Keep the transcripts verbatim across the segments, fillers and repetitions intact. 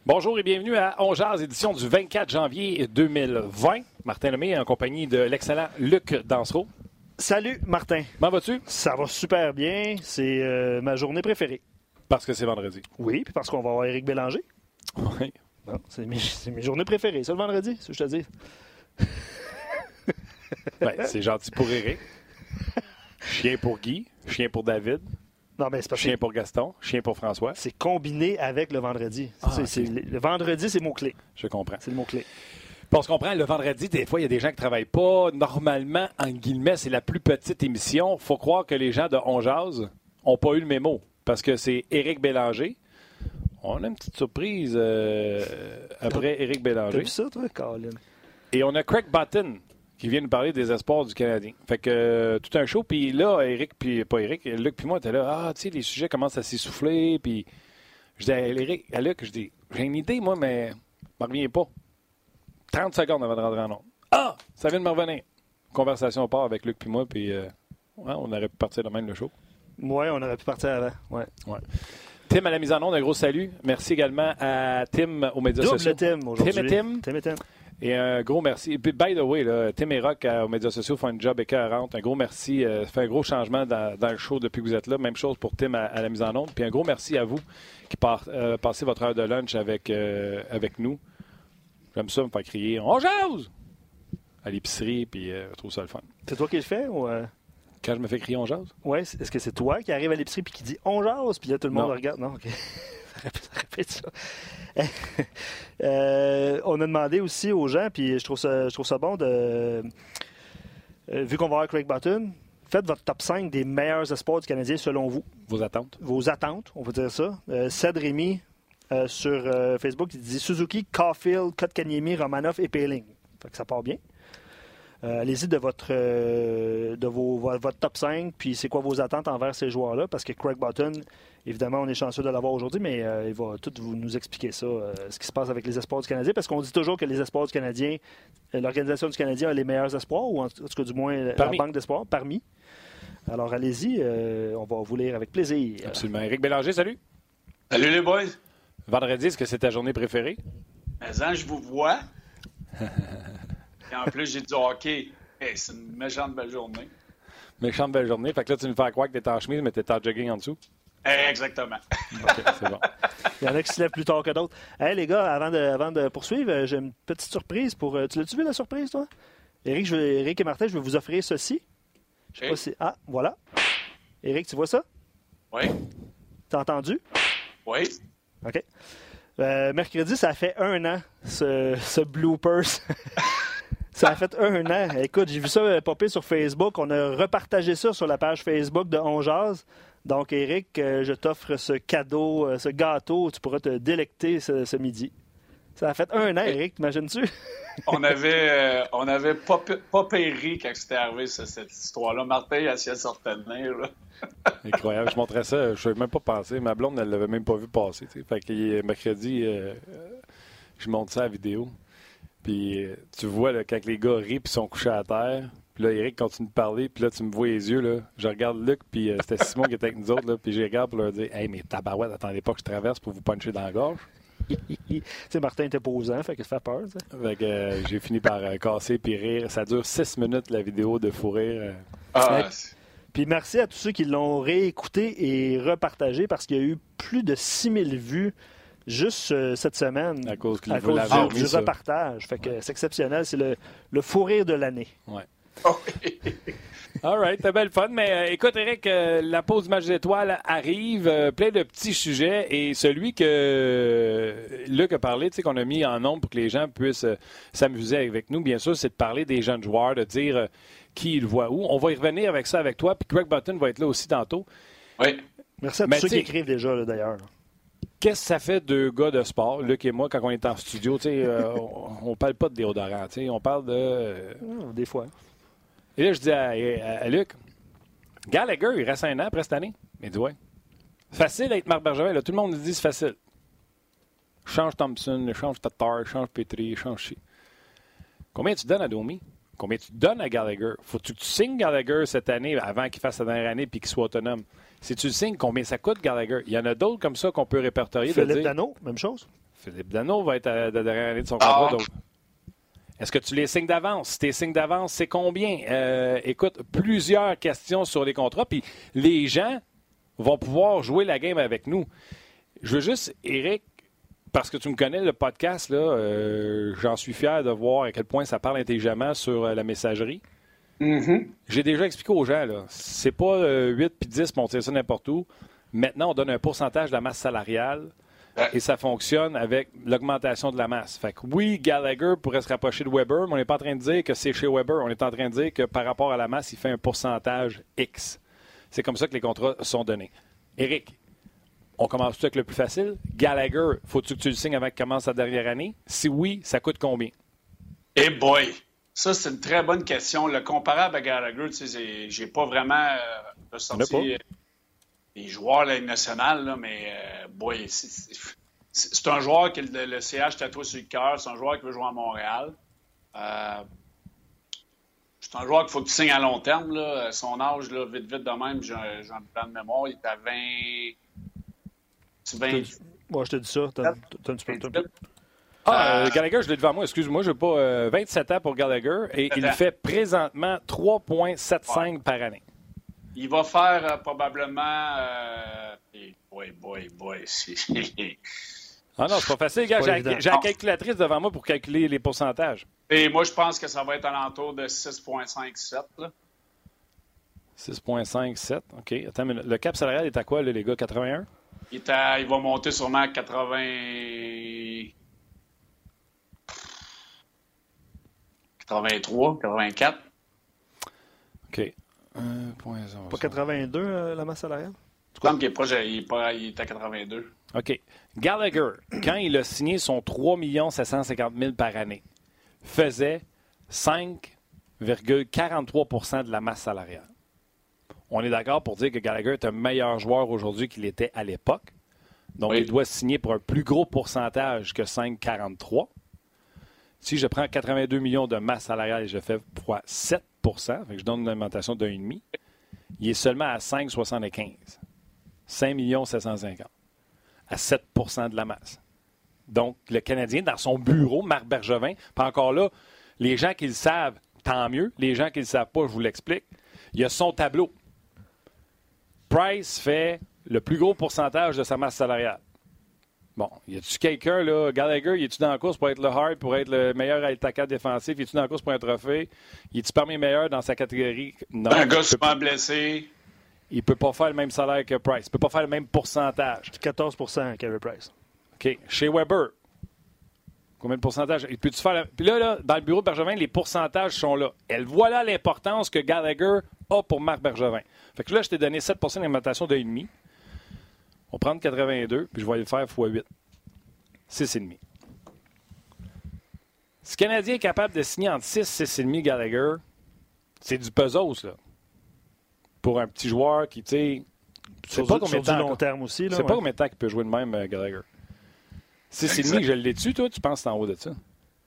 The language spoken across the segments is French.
Bonjour et bienvenue à On Jase, édition du vingt-quatre janvier deux mille vingt. Martin Lemay en compagnie de l'excellent Luc Dansereau. Salut Martin. Comment vas-tu? Ça va super bien. C'est euh, ma journée préférée. Parce que c'est vendredi. Oui, puis parce qu'on va avoir Éric Bélanger. Oui. Non, c'est mes, c'est mes journées préférées. C'est le vendredi, c'est ce que je te dis. Ben, c'est gentil pour Éric. Chien pour Guy. Chien pour David. Non, mais c'est parce Chien que pour Gaston. Chien pour François. c'est combiné avec le vendredi. Ah, c'est, ok. c'est, le, le vendredi, c'est mot-clé. Je comprends. C'est le mot-clé. Puis on se comprend, le vendredi, des fois, il y a des gens qui ne travaillent pas. Normalement, en guillemets, c'est la plus petite émission. Faut croire que les gens de On Jase n'ont pas eu le mémo. Parce que c'est Éric Bélanger. On a une petite surprise euh, après Éric T'as Bélanger. vu ça, toi, Colin? Et on a Craig Button qui vient nous parler des espoirs du Canadien. Fait que euh, tout un show. Puis là, Éric, puis pas Éric, Luc puis moi, était là. Ah, tu sais, les sujets commencent à s'essouffler. Puis je dis à Éric, à Luc, je dis, j'ai une idée, moi, mais je m'en reviens pas. trente secondes avant de rentrer en onde. Ah! Ça vient de me revenir. Conversation part avec Luc puis moi, puis euh, ouais, on aurait pu partir de même le show. Oui, on aurait pu partir avant. Ouais. Ouais. Tim à la mise en onde, un gros salut. Merci également à Tim aux médias Double sociaux. Tim aujourd'hui. Tim et Tim. Tim et Tim. Et un gros merci. Et puis, by the way, là, Tim et Rock euh, aux médias sociaux font un job écœurant. Un gros merci. Euh, ça fait un gros changement dans, dans le show depuis que vous êtes là. Même chose pour Tim à, à la mise en onde. Puis un gros merci à vous qui par, euh, passez votre heure de lunch avec, euh, avec nous. J'aime ça me faire crier « On jase !» à l'épicerie, puis euh, je trouve ça le fun. C'est toi qui le fais ou... Euh... Quand je me fais crier « On jase », Ouais, est-ce que c'est toi qui arrive à l'épicerie puis qui dit on jase, puis là tout le monde Non. regarde? Non, ok. Ça répète ça. euh, on a demandé aussi aux gens, puis je trouve ça, je trouve ça bon de. Euh, vu qu'on va avoir Craig Button, faites votre top cinq des meilleurs espoirs du Canadien selon vous. vos attentes. Vos attentes, on va dire ça. Euh, Ced Rémy euh, sur euh, Facebook, il dit Suzuki, Caulfield, Kotkaniemi, Romanov et Poehling. Fait que ça part bien. Euh, allez-y de votre euh, de vos, votre top cinq, puis c'est quoi vos attentes envers ces joueurs-là, parce que Craig Button, évidemment, on est chanceux de l'avoir aujourd'hui, mais euh, il va tout vous, nous expliquer ça, euh, ce qui se passe avec les espoirs du Canadien, parce qu'on dit toujours que les espoirs du Canadien, euh, l'organisation du Canadien a les meilleurs espoirs, ou en tout cas du moins Parmi. la banque d'espoirs, parmi. Alors allez-y, euh, on va vous lire avec plaisir. Absolument. Éric Bélanger, salut. Salut les boys. Vendredi, est-ce que c'est ta journée préférée? Mais hein, je vous vois. Et en plus, j'ai du hockey. Hey, c'est une méchante belle journée. Méchante belle journée. Fait que là, tu nous fais croire que t'es en chemise, mais t'es en jogging en dessous. Hey, exactement. OK, c'est bon. Il y en a qui se lèvent plus tard que d'autres. Hey les gars, avant de, avant de poursuivre, euh, j'ai une petite surprise pour. Euh, tu l'as-tu vu la surprise, toi? Éric, je vais, Éric et Martin, je vais vous offrir ceci. Je sais Hey. pas si. Ah, voilà. Éric, tu vois ça? Oui, T'as entendu? oui. OK. Euh, mercredi, ça a fait un an, ce, ce bloopers. Ça a fait un an. Écoute, j'ai vu ça euh, popper sur Facebook. On a repartagé ça sur la page Facebook de On Jase. Donc, Éric, euh, je t'offre ce cadeau, euh, ce gâteau. Tu pourras te délecter ce, ce midi. Ça a fait un an, Éric, t'imagines-tu? On avait, euh, on avait pas, p- pas péri quand c'était arrivé, ça, cette histoire-là. Martin, il a essayé de se retenir. Là. Incroyable. Je montrais ça. Je ne savais même pas penser. Ma blonde, elle l'avait même pas vu passer. T'sais. Fait que mercredi, euh, je monte ça à la vidéo. Puis euh, tu vois là, quand les gars rient puis sont couchés à terre. Puis là, Éric continue de parler. Puis là, tu me vois les yeux. Là. Je regarde Luc. Puis euh, c'était Simon qui était avec nous autres. Là, puis je regarde pour leur dire « Hey, mais tabarouette, attendez pas que je traverse pour vous puncher dans la gorge. » Tu sais, Martin était posant, fait que ça fait peur. T'sais. Fait que euh, j'ai fini par euh, casser puis rire. Ça dure six minutes, la vidéo de fou rire. Euh. Ah, Ouais. Puis merci à tous ceux qui l'ont réécouté et repartagé parce qu'il y a eu plus de six mille vues juste euh, cette semaine À cause qu'il à vous cause l'avait du, remis, du ça. repartage. Fait que c'est exceptionnel. C'est le, le fou rire de l'année. Ouais. oh, All right, c'était belle fun. Mais euh, écoute, Éric, euh, la pause du match d'étoiles arrive. Euh, plein de petits sujets. Et celui que euh, Luc a parlé, tu sais, qu'on a mis en nombre pour que les gens puissent euh, s'amuser avec nous, bien sûr, c'est de parler des jeunes joueurs, de dire euh, qui ils voient où. On va y revenir avec ça avec toi. Puis Craig Button va être là aussi tantôt. oui. Merci à tous Mais ceux qui t'sais- écrivent déjà, là, d'ailleurs. Qu'est-ce que ça fait deux gars de sport, Luc et moi, quand on est en studio? Tu sais, euh, on, on parle pas de déodorant. Tu sais, on parle de... euh, Ah, des fois. Et là, je dis à, à- à Luc, Gallagher, il reste un an après cette année. Il dit, ouais. Facile d'être Marc Bergevin. Là, tout le monde dit, c'est facile. Change Thompson, change Tatar, change Petrie, change Chi. Combien tu donnes à Domi? Combien tu donnes à Gallagher? Faut-tu que tu signes Gallagher cette année avant qu'il fasse sa dernière année et qu'il soit autonome? Si tu le signes, combien ça coûte Gallagher? Il y en a d'autres comme ça qu'on peut répertorier. Philippe de dire, Danault, même chose. Philippe Danault va être à la dernière année de son contrat. Ah. Donc, est-ce que tu les signes d'avance? Si tes signes d'avance, c'est combien? Euh, écoute, plusieurs questions sur les contrats. Puis les gens vont pouvoir jouer la game avec nous. Je veux juste, Éric, parce que tu me connais, le podcast, là, euh, j'en suis fier de voir à quel point ça parle intelligemment sur euh, la messagerie. Mm-hmm. J'ai déjà expliqué aux gens, là, c'est pas euh, huit puis dix, mais on tire ça n'importe où. Maintenant, on donne un pourcentage de la masse salariale et ça fonctionne avec l'augmentation de la masse. Fait que oui, Gallagher pourrait se rapprocher de Weber, mais on n'est pas en train de dire que c'est chez Weber. On est en train de dire que par rapport à la masse, il fait un pourcentage X. C'est comme ça que les contrats sont donnés. Éric, on commence tout avec le plus facile. Gallagher, faut-tu que tu le signes avant qu'il commence sa dernière année? Si oui, ça coûte combien? Eh hey boy! Ça, c'est une très bonne question. Le comparable à Gallagher, tu sais, j'ai pas vraiment euh, ressorti les joueurs de la Ligue nationale, là, mais euh, boy, c'est, c'est, c'est un joueur qui le, le C H tatoué sur le cœur. C'est un joueur qui veut jouer à Montréal. Euh, c'est un joueur qu'il faut que tu signes à long terme. Là. Son âge, là, vite, vite de même, j'ai un, j'ai un plan de mémoire. Il est à vingt... vingt... Moi, je te dis ça. T'as, t'as un petit peu de temps. Ah, euh, Gallagher, je l'ai devant moi. Excuse-moi, je n'ai pas euh, vingt-sept ans pour Gallagher et il fait présentement trois virgule soixante-cinq ouais. par année. Il va faire euh, probablement... Euh... Boy, boy, boy. ah non, c'est pas facile, gars. J'ai, j'ai la calculatrice devant moi pour calculer les pourcentages. Et moi, je pense que ça va être alentour de six virgule cinquante-sept. Là. six virgule cinquante-sept, OK. Attends une minute. Le cap salarial est à quoi, là, les gars? quatre-vingt-un? Il, est à... il va monter sûrement à quatre-vingts... quatre-vingt-trois, quatre-vingt-quatre. OK. un virgule zéro. Pas quatre-vingt-deux, euh, la masse salariale? Il semble qu'il est, proche, il, est pas, il est à quatre-vingt-deux. OK. Gallagher, quand il a signé son trois millions sept cent cinquante mille par année, faisait cinq virgule quarante-trois pour cent de la masse salariale. On est d'accord pour dire que Gallagher est un meilleur joueur aujourd'hui qu'il était à l'époque. Donc, oui. il doit signer pour un plus gros pourcentage que cinq virgule quarante-trois. Si je prends quatre-vingt-deux millions de masse salariale et je fais fois sept pour cent, fait que je donne une augmentation d'un virgule cinq, il est seulement à cinq virgule soixante-quinze. cinq millions sept cent cinquante. À sept pour cent de la masse. Donc, le Canadien, dans son bureau, Marc Bergevin, pas encore là, les gens qui le savent, tant mieux. Les gens qui ne le savent pas, je vous l'explique. Il y a son tableau. Price fait le plus gros pourcentage de sa masse salariale. Bon, y a-tu quelqu'un, là, Gallagher, y est-tu dans la course pour être le hard, pour être le meilleur attaquant défensif? Y est-tu dans la course pour un trophée? Y est-tu parmi les meilleurs dans sa catégorie? Non. Un gars souvent blessé. Il ne peut pas faire le même salaire que Price. Il ne peut pas faire le même pourcentage. quatorze pour cent, Carey Price. OK. Chez Weber, combien de pourcentage? Il peut-tu faire la... Puis là, là, dans le bureau de Bergevin, les pourcentages sont là. Et voilà l'importance que Gallagher a pour Marc Bergevin. Fait que là, je t'ai donné sept pour cent d'augmentation de un virgule cinq. On va prendre quatre-vingt-deux, puis je vais le faire fois huit. six virgule cinq. Si le Canadien est capable de signer entre six et six virgule cinq Gallagher, c'est du pesos, là. Pour un petit joueur qui, tu sais... C'est pas combien de temps, long terme aussi, là. C'est ouais. pas combien de temps qu'il peut jouer de même, euh, Gallagher. six virgule cinq, je l'ai dessus, toi, tu penses que c'est en haut de ça?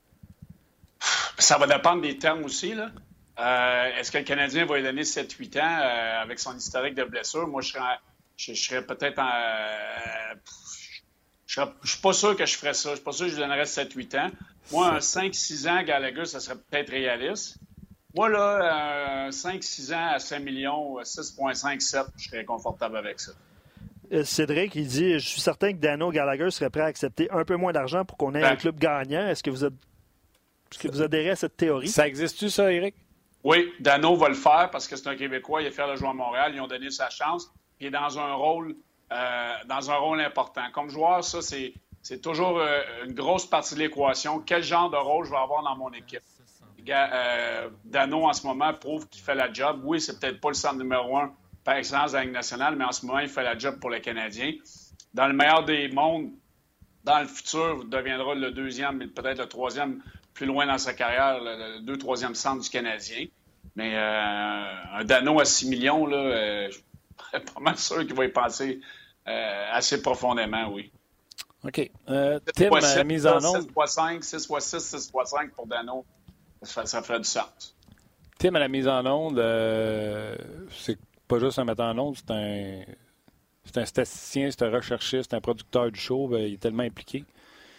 Ça va dépendre des termes aussi, là. Euh, est-ce que le Canadien va lui donner sept huit ans euh, avec son historique de blessure? Moi, je serais, je, je serais peut-être en... Euh, je ne suis pas sûr que je ferais ça. Je suis pas sûr que je lui donnerais sept huit ans. Moi, un cinq six ans, Gallagher, ça serait peut-être réaliste. Moi, là, un cinq six ans à cinq millions, six virgule cinq sept, je serais confortable avec ça. Cédric, il dit, je suis certain que Dano Gallagher serait prêt à accepter un peu moins d'argent pour qu'on ait ben, un club gagnant. Est-ce que vous, êtes... Est-ce que vous adhérez à cette théorie? Ça existe-tu, ça, Éric? Oui, Dano va le faire parce que c'est un Québécois, il est fier de jouer à Montréal, ils ont donné sa chance, il est dans un rôle, euh, dans un rôle important. Comme joueur, ça, c'est, c'est toujours euh, une grosse partie de l'équation. Quel genre de rôle je vais avoir dans mon équipe? Euh, Dano, en ce moment, prouve qu'il fait la job. Oui, c'est peut-être pas le centre numéro un par excellence de la Ligue nationale, mais en ce moment, il fait la job pour les Canadiens. Dans le meilleur des mondes, dans le futur, il deviendra le deuxième, mais peut-être le troisième plus loin dans sa carrière, le, le deux, troisième centre du Canadien. Mais euh, un Dano à six millions, là, euh, je suis pas mal sûr qu'il va y penser euh, assez profondément, oui. OK. Euh, Tim, la mise en onde. six fois cinq, six fois six, six fois cinq pour Dano. Ça, ça ferait du sens. Tim, à la mise en onde, euh, c'est pas juste un metteur en onde, c'est un, c'est un statisticien, c'est un recherchiste, c'est un producteur du show, ben, il est tellement impliqué.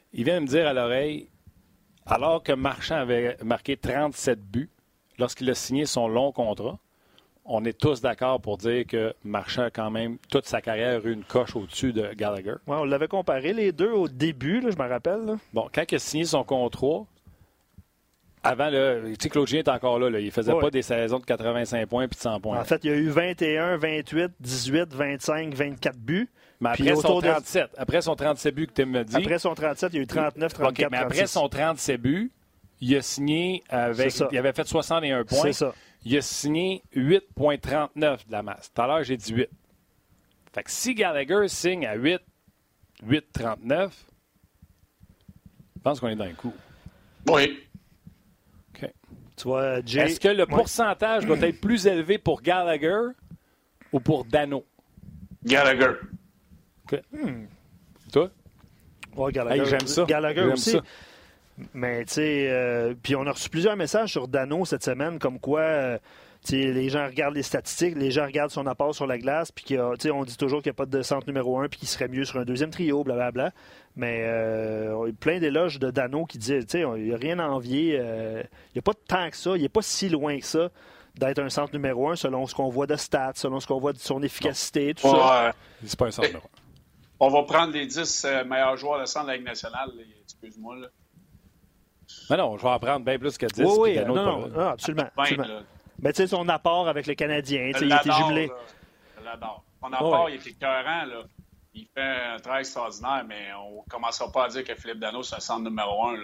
il vient de me dire à l'oreille, alors que Marchand avait marqué trente-sept buts lorsqu'il a signé son long contrat, on est tous d'accord pour dire que Marchand a quand même toute sa carrière eu une coche au-dessus de Gallagher. Ouais, on l'avait comparé les deux au début, là, je me rappelle. Là. Bon, quand il a signé son contrat, avant, là, tu sais, Claude Julien est encore là, là. Il ne faisait ouais. pas des saisons de quatre-vingt-cinq points puis de cent points. En fait, il y a eu vingt et un, vingt-huit, dix-huit, vingt-cinq, vingt-quatre buts. Mais après son trente-sept, de... après son trente-sept buts que tu me dit. Après son trente-sept, il y a eu trente-neuf, trente-quatre, OK, mais après trente-six. son trente-sept buts, il a signé avec. Il avait fait soixante et un points. C'est ça. Il a signé huit virgule trente-neuf de la masse. Tout à l'heure, j'ai dit huit. Fait que si Gallagher signe à huit, huit virgule trente-neuf, je pense qu'on est dans le coup. Oui. OK. Tu vois, Jay... Est-ce que le ouais. pourcentage doit être plus élevé pour Gallagher ou pour Dano? Gallagher. OK. Hmm. Toi? Ouais, Gallagher. Hey, j'aime ça. Gallagher j'aime aussi. Ça. Mais, tu sais, euh, puis on a reçu plusieurs messages sur Dano cette semaine, comme quoi, euh, tu sais, les gens regardent les statistiques, les gens regardent son apport sur la glace, puis on dit toujours qu'il n'y a pas de centre numéro un, puis qu'il serait mieux sur un deuxième trio, blablabla. Mais euh, on a eu plein d'éloges de Dano qui disaient, tu sais, il n'y a rien à envier. Euh, il n'y a pas tant que ça, il n'est pas si loin que ça d'être un centre numéro un selon ce qu'on voit de stats, selon ce qu'on voit de son efficacité, tout ouais, ça. Ouais. C'est pas un centre numéro un. On va prendre les dix euh, meilleurs joueurs de centre de la Ligue nationale. Là. Excuse-moi, là. Mais non, je vais en prendre bien plus que dix. Oui, oui, Dano, non, non, non, absolument. Ben, absolument. là. Mais tu sais, son apport avec le Canadien, Je il était l'adore, jumelé. là. Je l'adore. Son apport, ouais. il est écœurant, là. Il fait un travail extraordinaire, mais on ne commencera pas à dire que Philippe Dano, c'est un centre numéro un. Là.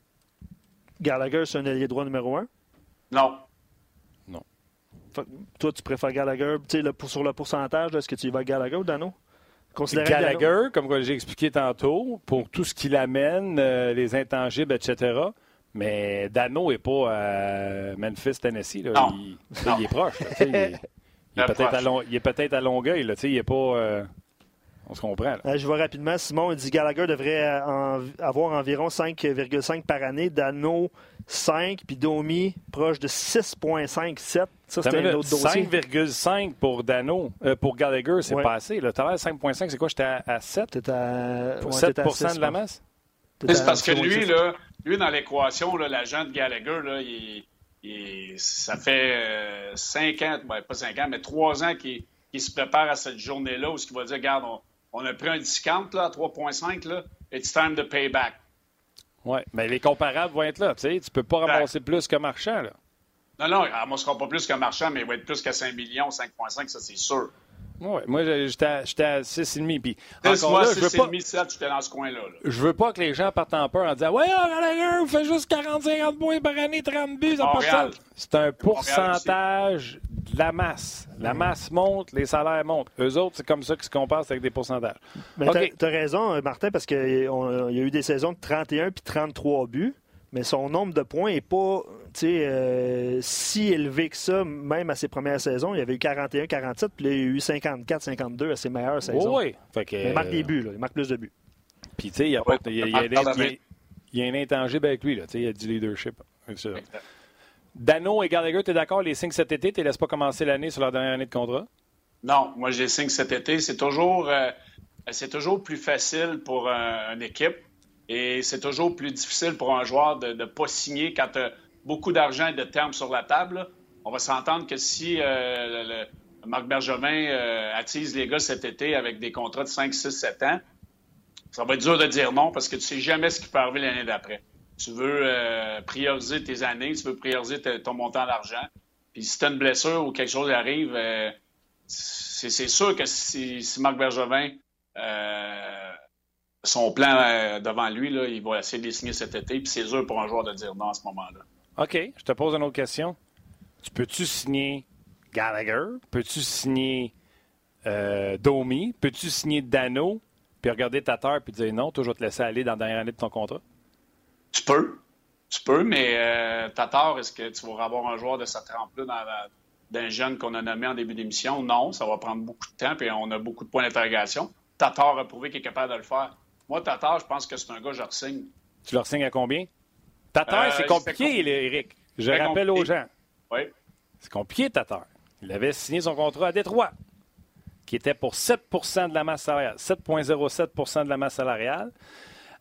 Gallagher, c'est un allié droit numéro un? Non. Non. Fait, toi, tu préfères Gallagher, tu sais, le, pour, sur le pourcentage, là, est-ce que tu y vas avec Gallagher ou Dano? Considérant Gallagher, Dano... comme j'ai expliqué tantôt, pour tout ce qu'il amène, euh, les intangibles, et cetera. Mais Dano n'est pas à Memphis, Tennessee. Là. Non. Il, non. il est proche. Là, il, est, il, est peut-être à long, il est peut-être à Longueuil. Là, il n'est pas... Euh, on se comprend. Là. Euh, je vois rapidement. Simon il dit Gallagher devrait en, avoir environ cinq virgule cinq par année. Dano, cinq. Puis Domi, proche de six virgule cinq sept. Ça, c'était un autre dossier. cinq virgule cinq pour Dano. Euh, pour Gallagher, c'est ouais. pas assez. Tout à l'heure, cinq virgule cinq, c'est quoi? J'étais à, à sept? T'es à... Pour ouais, sept pour cent à six, de la masse? C'est parce que lui, là, lui, dans l'équation, là, l'agent de Gallagher, là, il, il, ça fait euh, cinq ans, ben, pas cinq ans, mais trois ans qu'il, qu'il se prépare à cette journée-là où il va dire, regarde, on, on a pris un discount là, à trois virgule cinq, là, it's time to pay back. Oui, mais les comparables vont être là. Tu ne peux pas ramasser ouais. plus que Marchand. Là. Non, non, il ne sera pas plus que Marchand, mais il va être plus qu'à cinq millions, cinq virgule cinq, ça, c'est sûr. Oui, moi, j'étais à, j'étais à six virgule cinq. Puis encore moi, là, je veux pas... sept, j'étais dans ce coin-là. Là. Je veux pas que les gens partent en peur en disant « Ouais, oh, Gallagher, vous faites juste quarante à cinquante points par année, trente buts, ça passe ça. » C'est un pourcentage de la masse. La masse monte, les salaires montent. Eux autres, c'est comme ça qu'ils se comparent avec des pourcentages. Mais okay. tu as raison, Martin, parce qu'il y a eu des saisons de trente et un puis trente-trois buts. Mais son nombre de points n'est pas euh, si élevé que ça, même à ses premières saisons. Il y avait eu quarante et un quarante-sept, puis il y a eu cinquante-quatre cinquante-deux à ses meilleures saisons. Oui, oui. Mais il marque des buts, là. Il marque plus de buts. Puis, tu sais, il y a, ouais, il y a, il y a, il y a, il y a un intangible avec lui. Là. Il y a du leadership. Dano et Gallagher, tu es d'accord, les signes cet été, tu ne les laisses pas commencer l'année sur leur dernière année de contrat? Non, moi, je les signe cet été. C'est toujours, euh, c'est toujours plus facile pour un, une équipe. Et c'est toujours plus difficile pour un joueur de ne pas signer quand tu as beaucoup d'argent et de termes sur la table. Là. On va s'entendre que si euh, le, le Marc Bergevin euh, attise les gars cet été avec des contrats de cinq, six, sept ans, ça va être dur de dire non parce que tu sais jamais ce qui peut arriver l'année d'après. Tu veux euh, prioriser tes années, tu veux prioriser t- ton montant d'argent. Puis si tu as une blessure ou quelque chose arrive, euh, c'est, c'est sûr que si, si Marc Bergevin... Euh, son plan euh, devant lui, là, il va essayer de les signer cet été, puis c'est dur pour un joueur de dire non à ce moment-là. OK, je te pose une autre question. Tu peux-tu signer Gallagher? Peux-tu signer euh, Domi? Peux-tu signer Dano? Puis regarder ta terre puis dire non, toi, je vais te laisser aller dans la dernière année de ton contrat? Tu peux. Tu peux, mais euh, Tatar, est-ce que tu vas avoir un joueur de cette trempe-là dans la, d'un jeune qu'on a nommé en début d'émission? Non, ça va prendre beaucoup de temps, puis on a beaucoup de points d'interrogation. Tatar a prouvé qu'il est capable de le faire. Moi, Tatar, je pense que c'est un gars que je re-signe. Tu le re-signes à combien? Tatar, euh, c'est compliqué, Éric. Je très rappelle compliqué. aux gens. Oui. C'est compliqué, Tatar. Il avait signé son contrat à Détroit, qui était pour sept pour cent de la masse salariale. sept virgule zéro sept pour cent de la masse salariale.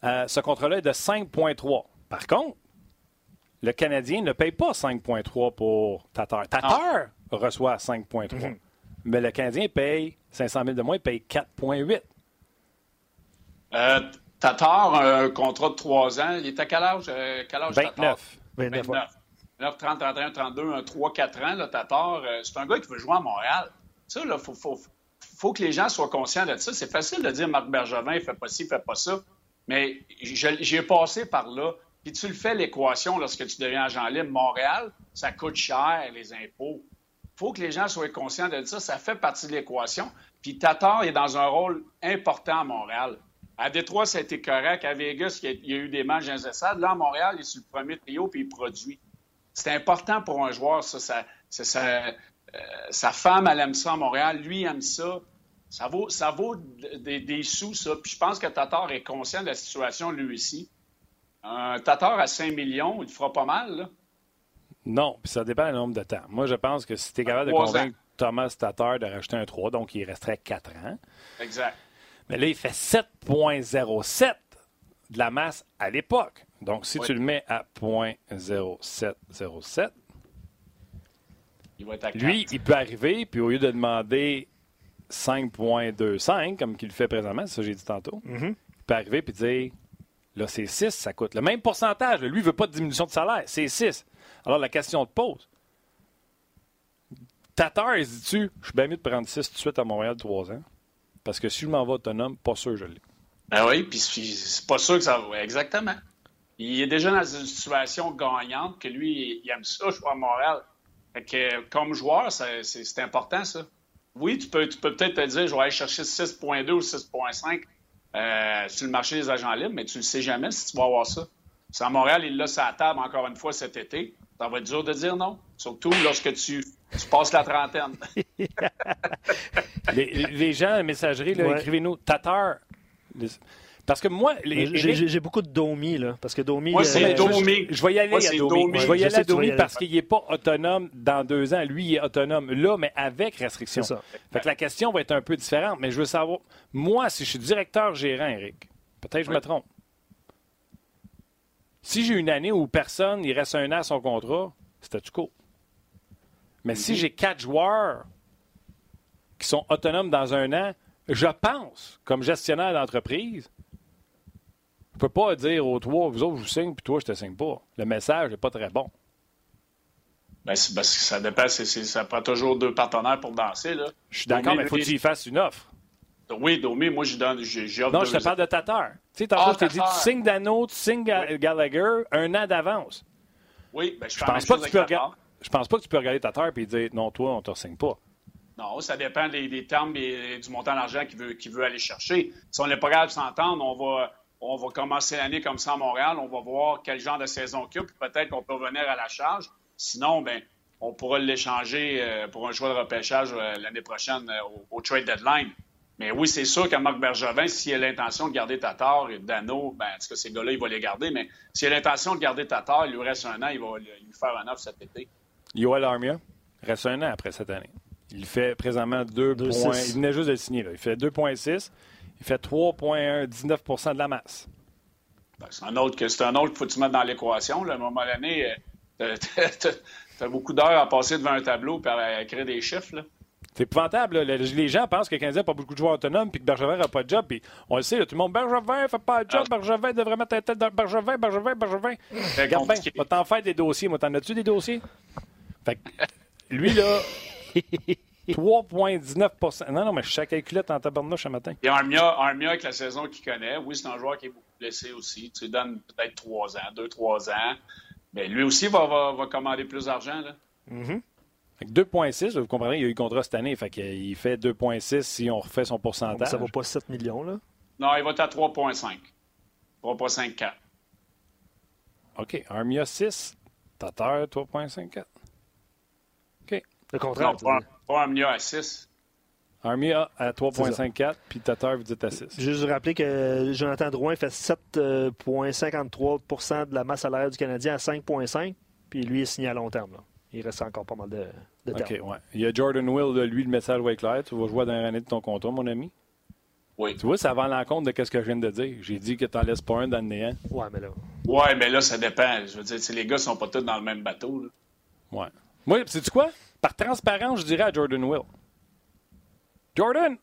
Euh, ce contrat-là est de cinq virgule trois. Par contre, le Canadien ne paye pas cinq virgule trois pour Tatar. Tatar non. reçoit cinq virgule trois. Mm-hmm. Mais le Canadien paye cinq cent mille de moins, il paye quatre virgule huit. Euh, Tatar, un contrat de trois ans, il est à quel âge? Euh, quel âge vingt-neuf. vingt-neuf. vingt-neuf, trente, trente et un, trente-deux, un trois quatre ans, là, Tatar. Euh, c'est un gars qui veut jouer à Montréal. Ça, là, il faut, faut, faut que les gens soient conscients de ça. C'est facile de dire Marc Bergevin, il fait pas ci, il fait pas ça. Mais j'ai passé par là. Puis tu le fais, l'équation, lorsque tu deviens agent libre. Montréal, ça coûte cher, les impôts. Il faut que les gens soient conscients de ça. Ça fait partie de l'équation. Puis Tatar est dans un rôle important à Montréal. À Détroit, ça a été correct. À Vegas, il y a eu des matchs d'incessade. Là, à Montréal, il est sur le premier trio puis il produit. C'est important pour un joueur, ça. ça, ça, ça euh, sa femme, elle aime ça à Montréal. Lui, il aime ça. Ça vaut, ça vaut des, des sous, ça. Puis je pense que Tatar est conscient de la situation, lui aussi. Un Tatar à cinq millions, il te fera pas mal, là. Non, puis ça dépend du nombre de temps. Moi, je pense que si tu es capable de convaincre Thomas Tatar de rajouter un trois, donc il resterait quatre ans. Exact. Mais là, il fait sept virgule zéro sept de la masse à l'époque. Donc, si oui. tu le mets à zéro virgule zéro sept zéro sept, il va être à quatre. Lui, il peut arriver, puis au lieu de demander cinq virgule vingt-cinq, comme qu'il le fait présentement, c'est ça que j'ai dit tantôt, mm-hmm. il peut arriver et dire, là, c'est six, ça coûte le même pourcentage. Lui, il ne veut pas de diminution de salaire, c'est six. Alors, la question te pose. Tatar, il se dit-tu, je suis bien mieux de prendre six tout de suite à Montréal trois ans? Parce que si je m'en vais autonome, pas sûr que je l'ai. Ben oui, puis c'est pas sûr que ça va. Exactement. Il est déjà dans une situation gagnante que lui, il aime ça, jouer à Montréal. Fait que, comme joueur, c'est, c'est, c'est important, ça. Oui, tu peux, tu peux peut-être te dire, je vais aller chercher six virgule deux ou six virgule cinq euh, sur le marché des agents libres, mais tu ne sais jamais si tu vas avoir ça. Si à Montréal, il l'a sur la table encore une fois cet été, ça va être dur de dire non. Surtout lorsque tu, tu passes la trentaine. les, les gens, la messagerie, là, ouais. écrivez-nous. Tatar. Les... Parce que moi... Les, j'ai, Eric... j'ai beaucoup de Domi, là. Parce que Domi... Moi, c'est euh, Domi. Je, je vais y aller moi, à Domi. Domi. Je vais y aller à Domi parce qu'il n'est pas autonome dans deux ans. Lui, il est autonome là, mais avec restriction. C'est ça. Fait que la question va être un peu différente. Mais je veux savoir... Moi, si je suis directeur gérant, Eric, peut-être que je oui. me trompe. Si j'ai une année où personne, il reste un an à son contrat, c'était-tu cool? Mais mm-hmm. si j'ai quatre joueurs qui sont autonomes dans un an, je pense, comme gestionnaire d'entreprise, je ne peux pas dire aux trois, vous autres, je vous signe, puis toi, je ne te signe pas. Le message n'est pas très bon. Ben, c'est parce que ça dépend. C'est, c'est, ça prend toujours deux partenaires pour danser, là. Je suis d'accord, Domi, mais il faut que tu y fasses une offre. Oui, Domi, moi, je donne, j'ai, j'ai offre Non, je te parle de Tatar. Tu sais, tantôt, ah, je t'ai dit, tu signes Dano, tu signes oui. Gallagher un an d'avance. Oui, ben, je, je pense pas que tu peux regarder. Je pense pas que tu peux regarder Tatar et dire, non, toi, on ne te signe pas. Non, ça dépend des, des termes et du montant d'argent qu'il veut, qu'il veut aller chercher. Si on n'est pas capable de s'entendre, on va, on va commencer l'année comme ça à Montréal. On va voir quel genre de saison qu'il y a, puis peut-être qu'on peut revenir à la charge. Sinon, ben, on pourra l'échanger pour un choix de repêchage l'année prochaine au, au trade deadline. Mais oui, c'est sûr qu'à Marc Bergevin, s'il a l'intention de garder Tatar et Dano, ben, en tout cas, ces gars-là, il va les garder. Mais s'il a l'intention de garder Tatar, il lui reste un an, il va lui faire un offre cet été. Yoel Armia reste un an après cette année. Il fait présentement deux points. Il venait juste de le signer. Là. Il fait deux virgule six. Il fait trois virgule dix-neuf pour cent de la masse. Ben, c'est un autre que c'est un autre qu'il faut que tu mettes dans l'équation. Là. À un moment donné, tu as beaucoup d'heures à passer devant un tableau et à écrire des chiffres. Là. C'est épouvantable. Là. Les gens pensent que le Canadien n'a pas beaucoup de joueurs autonomes et que Bergevin n'a pas de job. Puis on le sait, là, tout le monde, Bergevin ne fait pas de job. Ah. Bergevin devrait mettre la tête dans Bergevin, Bergevin, Bergevin. Regarde bien, va t'en faire des dossiers. Moi, t'en as-tu des dossiers? Fait que, lui, là, trois virgule dix-neuf pour cent. Non, non, mais je suis calculette en tabarnouche ce matin. Et Armia, Armia, avec la saison qu'il connaît, oui, c'est un joueur qui est beaucoup blessé aussi. Tu lui donnes peut-être trois ans, deux, trois ans. Mais lui aussi va, va, va commander plus d'argent. Là. Mm-hmm. deux virgule six, vous comprenez, il y a eu contrat cette année. Fait qu'il fait deux virgule six si on refait son pourcentage. Ça ne vaut pas sept millions, là? Non, il va être à trois virgule cinq. trois virgule cinquante-quatre. OK. Armia six, Tatar trois virgule cinquante-quatre. OK. Le contraire. Non, pas, pas Armia à six. Armia à trois virgule cinquante-quatre, puis Tatar, vous dites à six. Juste vous rappeler que Jonathan Drouin fait sept virgule cinquante-trois pour cent de la masse salariale du Canadien à cinq virgule cinq, puis lui est signé à long terme. Là. Il reste encore pas mal de, de temps. OK, ouais. Il y a Jordan Will, lui, le message va être clair. Tu vas jouer dans l'année de ton contrat, mon ami. Oui. Tu vois, ça va à l'encontre de ce que je viens de dire. J'ai dit que tu n'en laisses pas un dans le néant. Ouais, mais là. Ouais, mais là, ça dépend. Je veux dire, les gars ne sont pas tous dans le même bateau. Là. Ouais. Moi, sais-tu quoi? Par transparence, je dirais à Jordan Will. Jordan!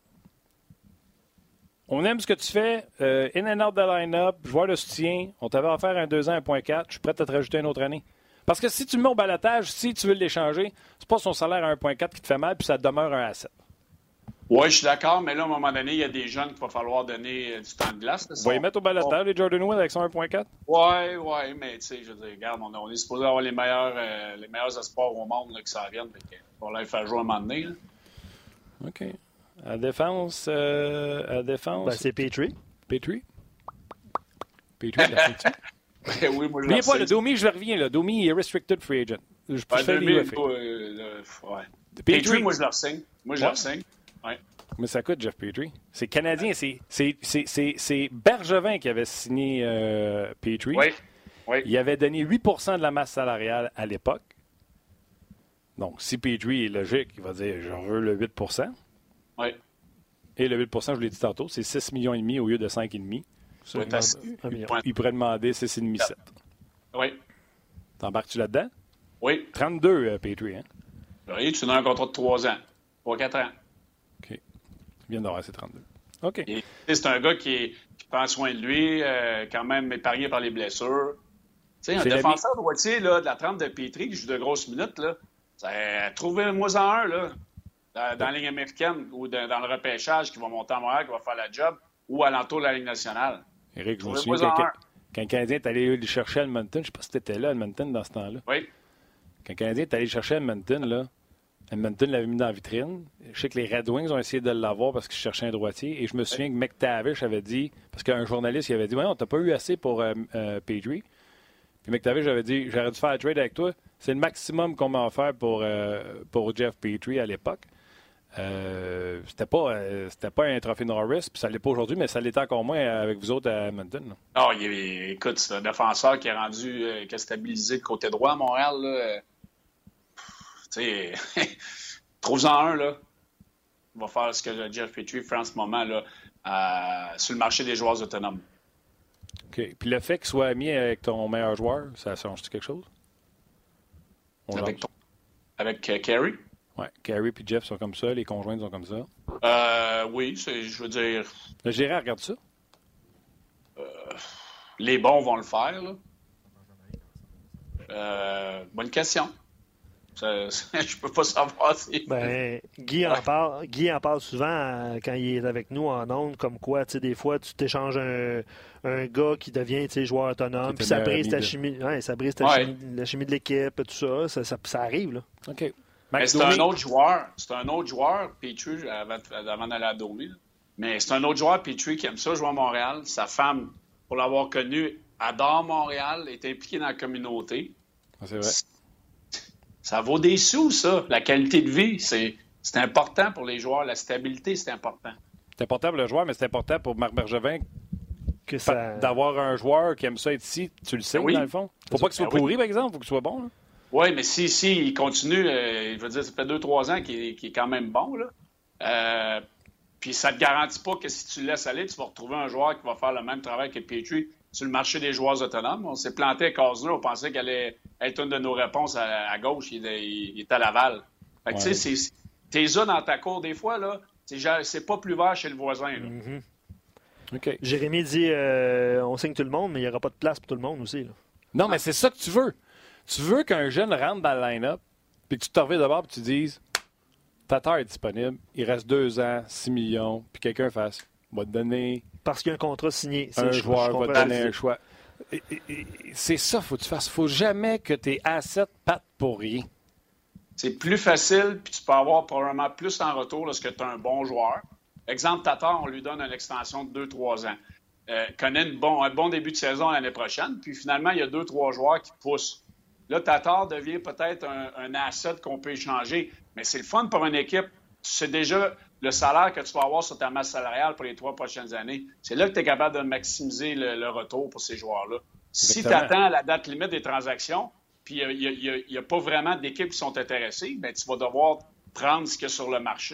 On aime ce que tu fais. Euh, in and out de line-up, joueur de soutien. On t'avait offert un deux ans, un virgule quatre. Je suis prêt à te rajouter une autre année. Parce que si tu le mets au balotage, si tu veux l'échanger, c'est pas son salaire à un virgule quatre qui te fait mal, puis ça demeure un asset. Oui, je suis d'accord, mais là, à un moment donné, il y a des jeunes qu'il va falloir donner euh, du temps de glace. On va y mettre au balotage, les Jordan Will, avec son un virgule quatre? Oui, oui, mais tu sais, je veux dire, regarde, on, on est supposé avoir les meilleurs, euh, les meilleurs espoirs au monde là, qui s'en viennent. On va les faire jouer un moment donné. Là. OK. À défense, euh, à défense. Ben, c'est Petrie. Petrie? Petrie, la fin Ben oui, moi, je N'oubliez pas, le Domi, je reviens. Le Domi est restricted free agent. Je peux ouais, faire les U F A. euh, ouais. Petrie, Petrie, moi, je leur signe. Moi, je ouais. leur signe. Ouais. Mais ça coûte, Jeff Petrie. C'est Canadien. C'est, c'est, c'est, c'est, c'est Bergevin qui avait signé euh, Petrie. Oui. Oui. Il avait donné huit pour cent de la masse salariale à l'époque. Donc, si Petrie est logique, il va dire « je veux le huit pour cent ». Oui. Et le huit pour cent, je l'ai dit tantôt, c'est six virgule cinq millions au lieu de cinq virgule cinq. Oui, il, il pourrait demander six virgule cinq sept. Oui. T'embarques-tu là-dedans? Oui. trente-deux, euh, Petrie, hein? Oui, tu donnes un contrat de trois ans. trois quatre ans. OK. Il vient d'avoir ses trente-deux. OK. Et, c'est un gars qui, est, qui prend soin de lui, euh, quand même épargné par les blessures. Tu sais, un C'est défenseur la... droitier là, de la trempe de Petrie qui joue de grosses minutes, là, ça, trouvez-moi en un, là. Dans, dans la Ligue américaine ou de, dans le repêchage qui va monter à Montréal, qui va faire la job, ou alentour de la Ligue nationale. Éric, je me souviens quand, quand le Canadien est allé le chercher à Edmonton, je ne sais pas si tu étais là à Edmonton dans ce temps-là. Oui. Quand le Canadien est allé le chercher à Edmonton, là, Edmonton l'avait mis dans la vitrine. Je sais que les Red Wings ont essayé de l'avoir parce qu'ils cherchaient un droitier. Et je me souviens oui. que McTavish avait dit, parce qu'un journaliste il avait dit, ouais, on t'a pas eu assez pour euh, euh, Petrie. Puis McTavish avait dit, j'aurais dû faire un trade avec toi. C'est le maximum qu'on m'a offert pour, euh, pour Jeff Petrie à l'époque. Euh, c'était pas euh, c'était pas un trophée Norris, puis ça l'est pas aujourd'hui, mais ça l'était encore moins avec vous autres à Edmonton. Non, oh, il est, écoute, c'est un défenseur qui est rendu, euh, qui a stabilisé le côté droit à Montréal. Là. Tu sais, trouve-en un, là. Il va faire ce que Jeff Petrie fait en ce moment, là, euh, sur le marché des joueurs autonomes. OK. Puis le fait qu'il soit ami avec ton meilleur joueur, ça change-tu quelque chose? On avec ton... avec euh, Carey? Oui, Carey et Jeff sont comme ça, les conjoints sont comme ça. Euh, oui, c'est, je veux dire... Le gérant regarde ça? Euh, les bons vont le faire, là. Euh, bonne question. Ça, ça, je peux pas savoir si... Ben, Guy, en parle, Guy en parle souvent euh, quand il est avec nous en ondes, comme quoi, tu sais, des fois, tu t'échanges un, un gars qui devient, tu sais, joueur autonome, puis ça brise ta chimie, ouais, ça brise ta ouais. chimie, la chimie de l'équipe, tout ça, ça, ça, ça arrive, là. OK. Mais c'est un autre joueur, c'est un autre joueur, Petrie, avant, avant d'aller à Domi, mais c'est un autre joueur, Petrie, qui aime ça, jouer à Montréal. Sa femme, pour l'avoir connu, adore Montréal, est impliquée dans la communauté. Ah, c'est vrai. Ça vaut des sous, ça. La qualité de vie, c'est, c'est important pour les joueurs. La stabilité, c'est important. C'est important pour le joueur, mais c'est important pour Marc Bergevin que ça... d'avoir un joueur qui aime ça être ici. Tu le sais, ben oui. Dans le fond. Faut pas qu'il soit ben pourri, oui. Par exemple. Faut qu'il soit bon. Là. Oui, mais si, si il continue, euh, je veux dire, ça fait deux, trois ans qu'il, qu'il est quand même bon, là. Euh, puis ça ne te garantit pas que si tu le laisses aller, tu vas retrouver un joueur qui va faire le même travail que Petrie sur le marché des joueurs autonomes. On s'est planté à Cosner, on pensait qu'elle allait être une de nos réponses à, à gauche, il, il, il est à Laval. Fait que ouais. Tu sais, c'est, t'es là dans ta cour des fois, là, c'est, c'est pas plus vert chez le voisin, là. Mm-hmm. Okay. Jérémy dit, euh, on signe tout le monde, mais il n'y aura pas de place pour tout le monde aussi, là. Non, mais c'est ça que tu veux. Tu veux qu'un jeune rentre dans le line-up, puis que tu te reviens d'abord et tu dises Tatar est disponible, il reste deux ans, six millions, puis quelqu'un fasse va te donner. Parce qu'il y a un contrat signé. Un je, joueur je va te donner un choix. Et, et, et, c'est ça, faut que tu fasses. Il ne faut jamais que tes assets partent pour rien. C'est plus facile, puis tu peux avoir probablement plus en retour lorsque tu as un bon joueur. Exemple, Tatar, on lui donne une extension de deux trois ans. Euh, connaît une bon, un bon début de saison l'année prochaine, puis finalement, il y a deux trois joueurs qui poussent. Là, Tatar devient peut-être un, un asset qu'on peut échanger, mais c'est le fun pour une équipe. Tu sais déjà le salaire que tu vas avoir sur ta masse salariale pour les trois prochaines années. C'est là que tu es capable de maximiser le, le retour pour ces joueurs-là. Si tu attends à la date limite des transactions, puis il n'y a, a, a pas vraiment d'équipes qui sont intéressées, bien, tu vas devoir prendre ce qu'il y a sur le marché.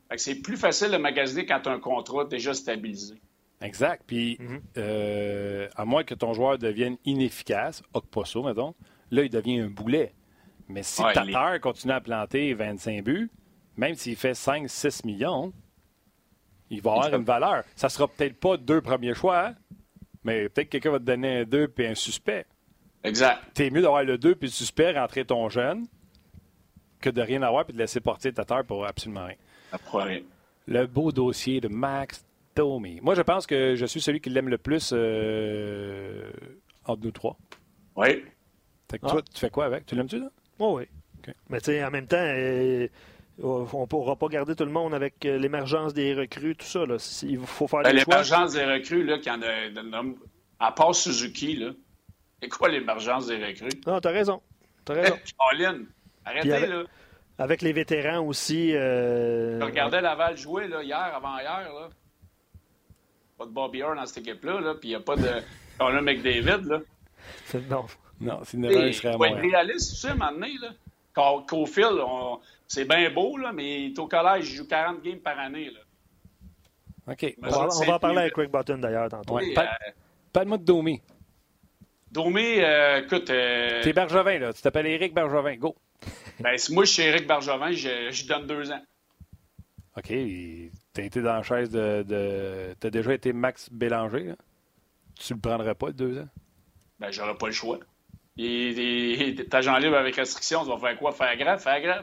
Fait que c'est plus facile de magasiner quand tu as un contrat déjà stabilisé. Exact. Puis, mm-hmm. euh, à moins que ton joueur devienne inefficace, Okposo, mettons, là, il devient un boulet. Mais si ouais, Tatar est... continue à planter vingt-cinq buts, même s'il fait cinq six millions, il va avoir une valeur. Ça ne sera peut-être pas deux premiers choix, hein? Mais peut-être que quelqu'un va te donner un deux puis un suspect. Exact. T'es mieux d'avoir le deux puis le suspect, rentrer ton jeune, que de rien avoir puis de laisser porter Tatar pour absolument rien. Après. Le beau dossier de Max Domi. Moi, je pense que je suis celui qui l'aime le plus euh, entre nous trois. Oui. Fait que ah. toi, tu fais quoi avec? Tu l'aimes-tu, là? Oh, oui. Okay. Mais tu sais, en même temps, euh, on ne pourra pas garder tout le monde avec euh, l'émergence des recrues, tout ça. Là. Il faut faire ben, des choix. L'émergence des recrues, là, qui en a, de, de, à part Suzuki, là, c'est quoi l'émergence des recrues? Non, t'as raison. T'as raison. Caroline, arrêtez, avec, là. Avec les vétérans aussi. Euh... Je regardais Laval jouer, là, hier, avant-hier, là. Pas de Bobby Orr dans cette équipe-là, là, puis il n'y a pas de Connor McDavid, là. Non. Non, c'est une erreur, il serait à moi. Il faut être réaliste, tu sais, à un moment donné, là. Caulfield, on... c'est bien beau, là, mais il est au collège, il joue quarante games par année, là. OK. On va, on va en parler avec Craig Button, d'ailleurs, tantôt. Ouais. Parle, euh... Parle-moi de Domi. Domi, euh, écoute... Euh... T'es Bergevin, là. Tu t'appelles Éric Bergevin. Go. Ben, moi, je suis Éric Bergevin, je, je donne deux ans. OK. T'as été dans la chaise de... de... T'as déjà été Max Bélanger, là. Tu le prendrais pas, le deux ans? Ben, j'aurais pas le choix. Et, et, t'agent libre avec restriction, tu vas faire quoi? Faire grave? Faire grave?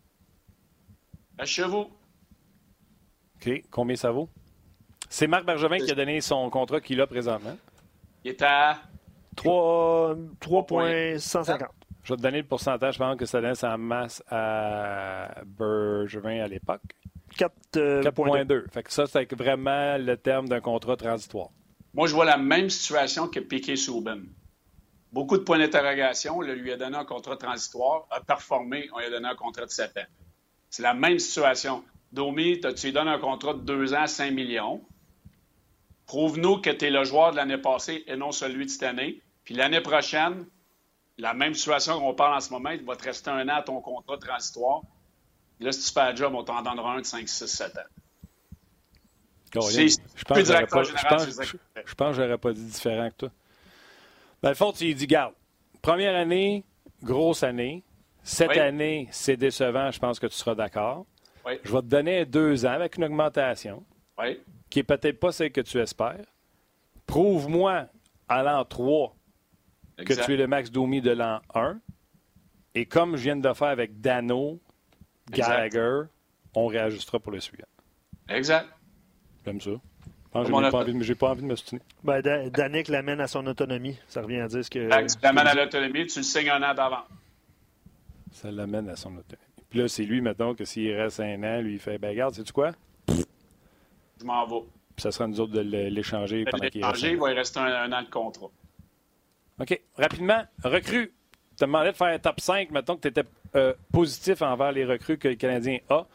À chevaux. OK. Combien ça vaut? C'est Marc Bergevin qui a donné son contrat qu'il a présentement. Il est à... trois virgule cent cinquante. Je vais te donner le pourcentage, je pense que ça donne sa masse à Bergevin à l'époque. quatre virgule deux. Fait que ça, c'est vraiment le terme d'un contrat transitoire. Moi, je vois la même situation que Piquet Souban. Beaucoup de points d'interrogation. On lui a donné un contrat transitoire, a performé, on lui a donné un contrat de sept ans. C'est la même situation. Domi, tu lui donnes un contrat de deux ans à cinq millions. Prouve-nous que tu es le joueur de l'année passée et non celui de cette année. Puis l'année prochaine, la même situation qu'on parle en ce moment, il va te rester un an à ton contrat transitoire. Là, si tu fais le job, on t'en donnera un de cinq, six, sept ans. Oh, c'est je pense que j'aurais pas, général, je pense, je, je pense que j'aurais pas dit différent que toi. Dans le fond, tu lui dis, garde, première année, grosse année. Cette oui. année, c'est décevant, je pense que tu seras d'accord. Oui. Je vais te donner deux ans avec une augmentation oui. qui n'est peut-être pas celle que tu espères. Prouve-moi à l'an trois exact. Que tu es le Max Domi de l'an un. Et comme je viens de le faire avec Dano, Gallagher, exact. On réajustera pour le suivant. Exact. J'aime ça. Je n'ai pas, pas envie de me soutenir. Ben, Danick l'amène à son autonomie. Ça revient à dire ce que... Ben, tu l'amènes à l'autonomie, tu le signes un an d'avant. Ça l'amène à son autonomie. Puis là, c'est lui, mettons, que s'il reste un an, lui, il fait, ben regarde, sais-tu quoi? Je m'en vais. Puis ça sera nous autres de l'échanger pendant qu'il reste. Il va y rester un, un an de contrat. OK. Rapidement, recrues. Tu te demandais de faire un top cinq, mettons que tu étais euh, positif envers les recrues que le Canadien a.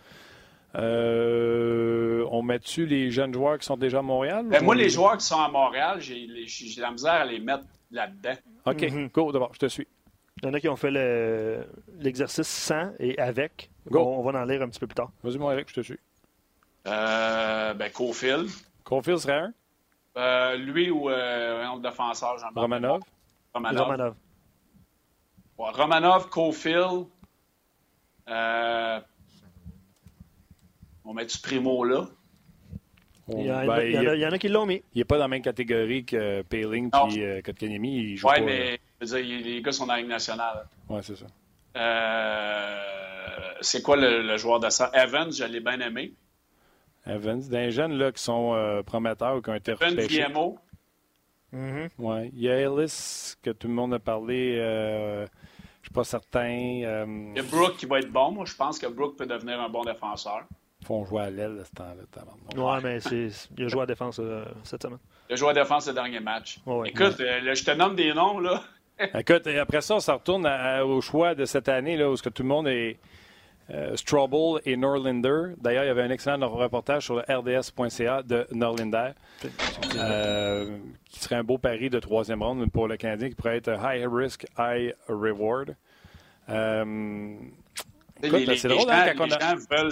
Euh, on met-tu les jeunes joueurs qui sont déjà à Montréal? Ben moi, les... les joueurs qui sont à Montréal, j'ai, j'ai la misère à les mettre là-dedans. OK. Mm-hmm. Go, d'abord, je te suis. Il y en a qui ont fait le, l'exercice sans et avec. Go. On, on va en lire un petit peu plus tard. Vas-y, mon Eric, je te suis. Euh, ben, Caulfield. Caulfield serait un? Euh, lui ou euh, un défenseur, j'en Romanov. Romanov. Romanov. Ouais, Romanov, Caulfield. Euh, on met du Primo là. Il y, a, ben, il, y a, il y en a qui l'ont mis. Il n'est pas dans la même catégorie que Payling et euh, Kotkaniemi. Oui, mais je veux dire, les gars sont dans la Ligue nationale. Oui, c'est ça. Euh, c'est quoi le, le joueur de ça? Evans, je l'ai bien aimé. Evans, des jeunes là, qui sont euh, prometteurs ou qui ont été repêchés. Evans, V M O. Mm-hmm. Oui. Il y a Ellis, que tout le monde a parlé. Euh, je ne suis pas certain. Euh, il y a Brooke qui va être bon. Moi, je pense que Brooke peut devenir un bon défenseur. Ils font jouer à l'aile à ce temps-là. Oui, mais c'est, il a joué à défense euh, cette semaine. Il a joué à défense le dernier match. Oh, ouais. Écoute, ouais. Euh, là, je te nomme des noms, là. Écoute, après ça, ça retourne à, au choix de cette année, là, où que tout le monde est euh, Strobel et Norlinder. D'ailleurs, il y avait un excellent reportage sur le R D S point C A de Norlinder, euh, qui serait un beau pari de troisième ronde pour le Canadien, qui pourrait être high risk, high reward. Euh, écoute, les, c'est les, drôle, les, hein, gens, quand les on a... gens veulent,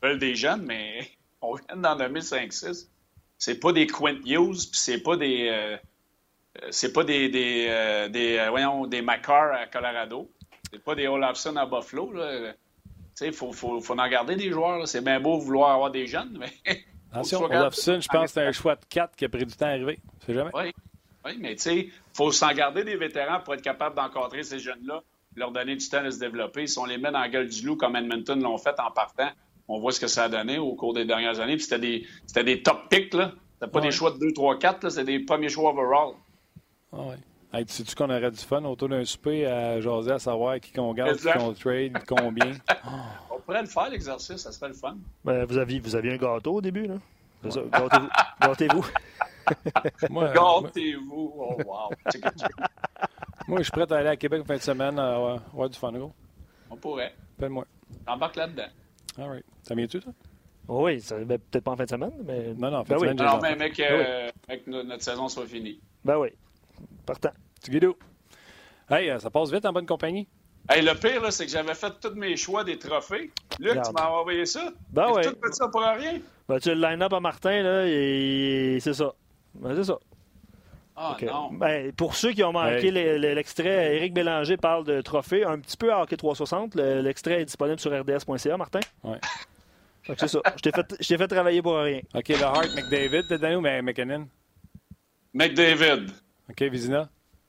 veulent des jeunes, mais on vient d'en nommer cinq six. C'est pas des Quint Hughes, puis c'est pas des... Euh, c'est pas des... des, euh, des euh, voyons, des McCarr à Colorado. C'est pas des Olafson à Buffalo, là. Il faut, faut, faut en garder des joueurs. Là. C'est bien beau vouloir avoir des jeunes, mais... Attention, Olafson, je pense que c'est un choix de quatre qui a pris du temps à arriver. C'est jamais. Oui, oui, mais tu sais, il faut s'en garder des vétérans pour être capable d'encadrer ces jeunes-là, leur donner du temps de se développer. Si on les met dans la gueule du loup comme Edmonton l'ont fait en partant, on voit ce que ça a donné au cours des dernières années. Puis c'était des, c'était des top picks, là. C'était pas ouais. des choix de deux, trois, quatre, là. C'était des premiers choix overall. Ah ouais. Hey, tu sais-tu qu'on aurait du fun autour d'un souper à jaser, à savoir qui qu'on garde, qui qu'on trade, combien? Oh. On pourrait le faire, l'exercice, ça serait le fun. Ben, vous, aviez, vous aviez un gâteau au début, là? C'est ça, gâtez-vous. Gâtez-vous. Moi, Gâtez-vous. Oh, wow. Moi, je suis prêt à aller à Québec en fin de semaine à avoir, avoir du fun, gros. On pourrait. Appelle-moi. Embarque là-dedans. All right. Ça vient-tu, toi? Oh oui, ça, ben, peut-être pas en fin de semaine, mais... Non, non, en fin ben de oui. semaine, Non, mais mec, ben euh, oui. que notre saison soit finie. Ben oui. Partant. Tu guido. Hey, ça passe vite en bonne compagnie. Hey, le pire, là, c'est que j'avais fait tous mes choix des trophées. Luc, Regarde. tu m'as envoyé ça? Ben oui. Tu as tout fait ça pour rien? Ben, tu as le line-up à Martin, là, et c'est ça. Ben, c'est ça. Ah, Okay. non. Ben, pour ceux qui ont manqué hey. l'extrait, Éric Bélanger parle de trophée, un petit peu à Hockey trois cent soixante. L'extrait est disponible sur r d s point c a, Martin. Oui. C'est ça. Je t'ai fait, je t'ai fait travailler pour rien. OK, le Hart, McDavid, t'es donné ou McKinnon? McDavid. OK, Vizina?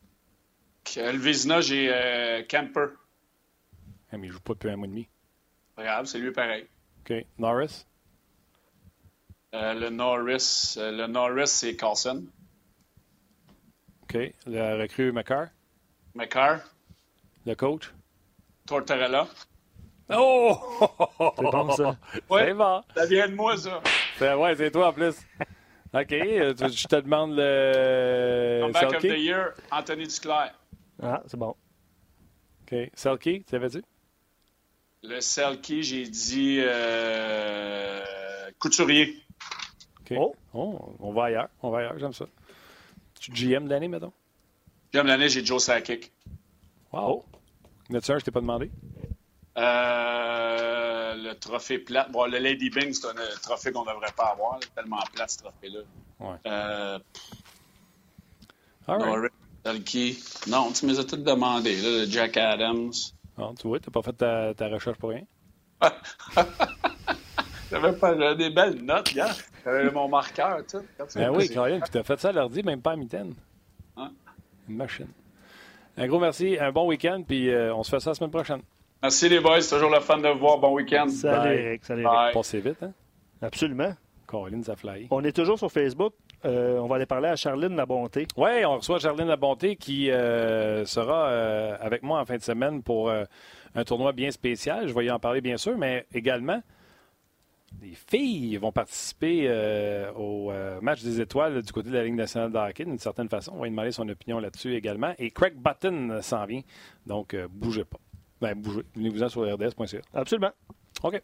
Le Vizina, j'ai euh, Kemper. Ah, mais il joue pas depuis un mois et demi. Regarde, c'est lui pareil. OK. Norris? Euh, le Norris, euh, le Norris, c'est Carlson. OK. Le recrue McCarr? McCarr. Le coach? Tortorella. Oh! C'est bon, ça. Ouais, c'est bon. Ça vient de moi, ça. C'est, ouais, c'est toi en plus. OK. Je te demande le. Comeback Selke? of the Year, Anthony Duclair. Ah, c'est bon. OK. Selke, tu savais-tu? Le Selke, j'ai dit euh, Couturier. OK. Oh. Oh, on va ailleurs. On va ailleurs, j'aime ça. Tu G M de l'année, mettons? J'aime l'année, j'ai Joe Sakic. Wow. Y en a-tu un, je t'ai pas demandé? Euh, le trophée plate. Bon, le Lady Bing, c'est un euh, trophée qu'on devrait pas avoir. Là, tellement plate, ce trophée-là. Ouais. Euh, All right. Norris, Selke. Non, tu me les as toutes demandées. Là, le Jack Adams. Non, tu vois, t'as pas fait ta, ta recherche pour rien. J'avais pas j'avais des belles notes, gars. J'avais mon marqueur, tu sais. Ben oui, Caroline, puis t'as fait ça à l'ordi, même pas à mitaine. Hein? Une machine. Un gros merci, un bon week-end, puis euh, on se fait ça la semaine prochaine. Merci les boys, c'est toujours le fun de vous voir. Bon week-end. Salut, Bye. Eric. Salut, Bye. Eric. Passez vite, hein? Absolument. Caroline, ça fly. On est toujours sur Facebook. Euh, on va aller parler à Charline Labonté. Oui, on reçoit Charline Labonté qui euh, sera euh, avec moi en fin de semaine pour euh, un tournoi bien spécial. Je vais y en parler, bien sûr, mais également, les filles vont participer euh, au euh, match des étoiles du côté de la Ligue nationale de hockey, d'une certaine façon. On va lui demander son opinion là-dessus également. Et Craig Button s'en vient, donc euh, bougez pas. Ben, bougez. Venez-vous-en sur r d s point c a. Absolument. OK.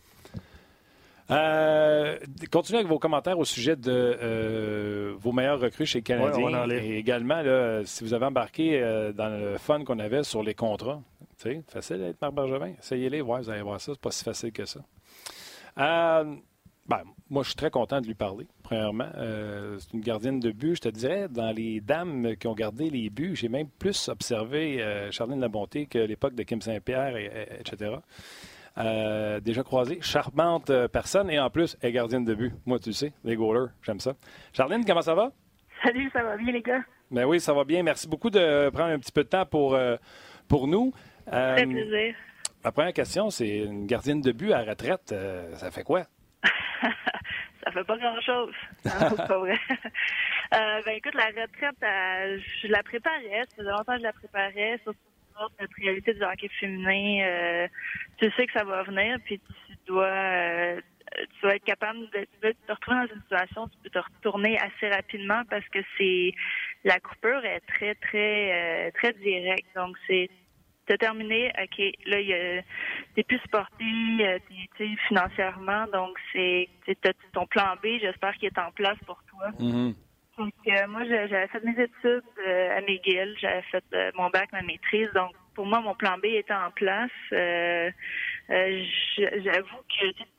Euh, continuez avec vos commentaires au sujet de euh, vos meilleurs recrues chez le Canadien. Ouais, on va en lire. Et également, là, si vous avez embarqué euh, dans le fun qu'on avait sur les contrats, tu sais, facile d'être Marc Bergevin. Essayez-les, ouais, vous allez voir ça. C'est pas si facile que ça. Euh, ben, moi, je suis très content de lui parler, premièrement. Euh, c'est une gardienne de but. Je te dirais, dans les dames qui ont gardé les buts, j'ai même plus observé euh, Charline Labonté que l'époque de Kim Saint-Pierre, et, et, etc. Euh, déjà croisée, charmante personne, et en plus, elle est gardienne de but. Moi, tu le sais, les goalers, j'aime ça. Charline, comment ça va? Salut, ça va bien, les gars? Ben oui, ça va bien. Merci beaucoup de prendre un petit peu de temps pour, euh, pour nous. Euh, Très plaisir. Ma première question, c'est une gardienne de but à retraite, euh, ça fait quoi? Ça fait pas grand-chose. Non, c'est pas vrai. euh, ben écoute, la retraite, euh, je la préparais. Ça faisait longtemps que je la préparais. Surtout notre réalité du hockey féminin. Euh, tu sais que ça va venir, puis tu dois, euh, tu dois être capable de, de te retrouver dans une situation où tu peux te retourner assez rapidement parce que c'est la coupure est très, très, euh, très directe. Donc, c'est t'as terminé, OK, là, y a, t'es plus supporté euh, t'es, t'es financièrement, donc c'est t'as ton plan B, j'espère qu'il est en place pour toi. Mm-hmm. Donc, euh, moi, j'avais fait mes études euh, à McGill, j'avais fait euh, mon bac, ma maîtrise, donc pour moi, mon plan B était en place. Euh, euh, j'avoue que c'est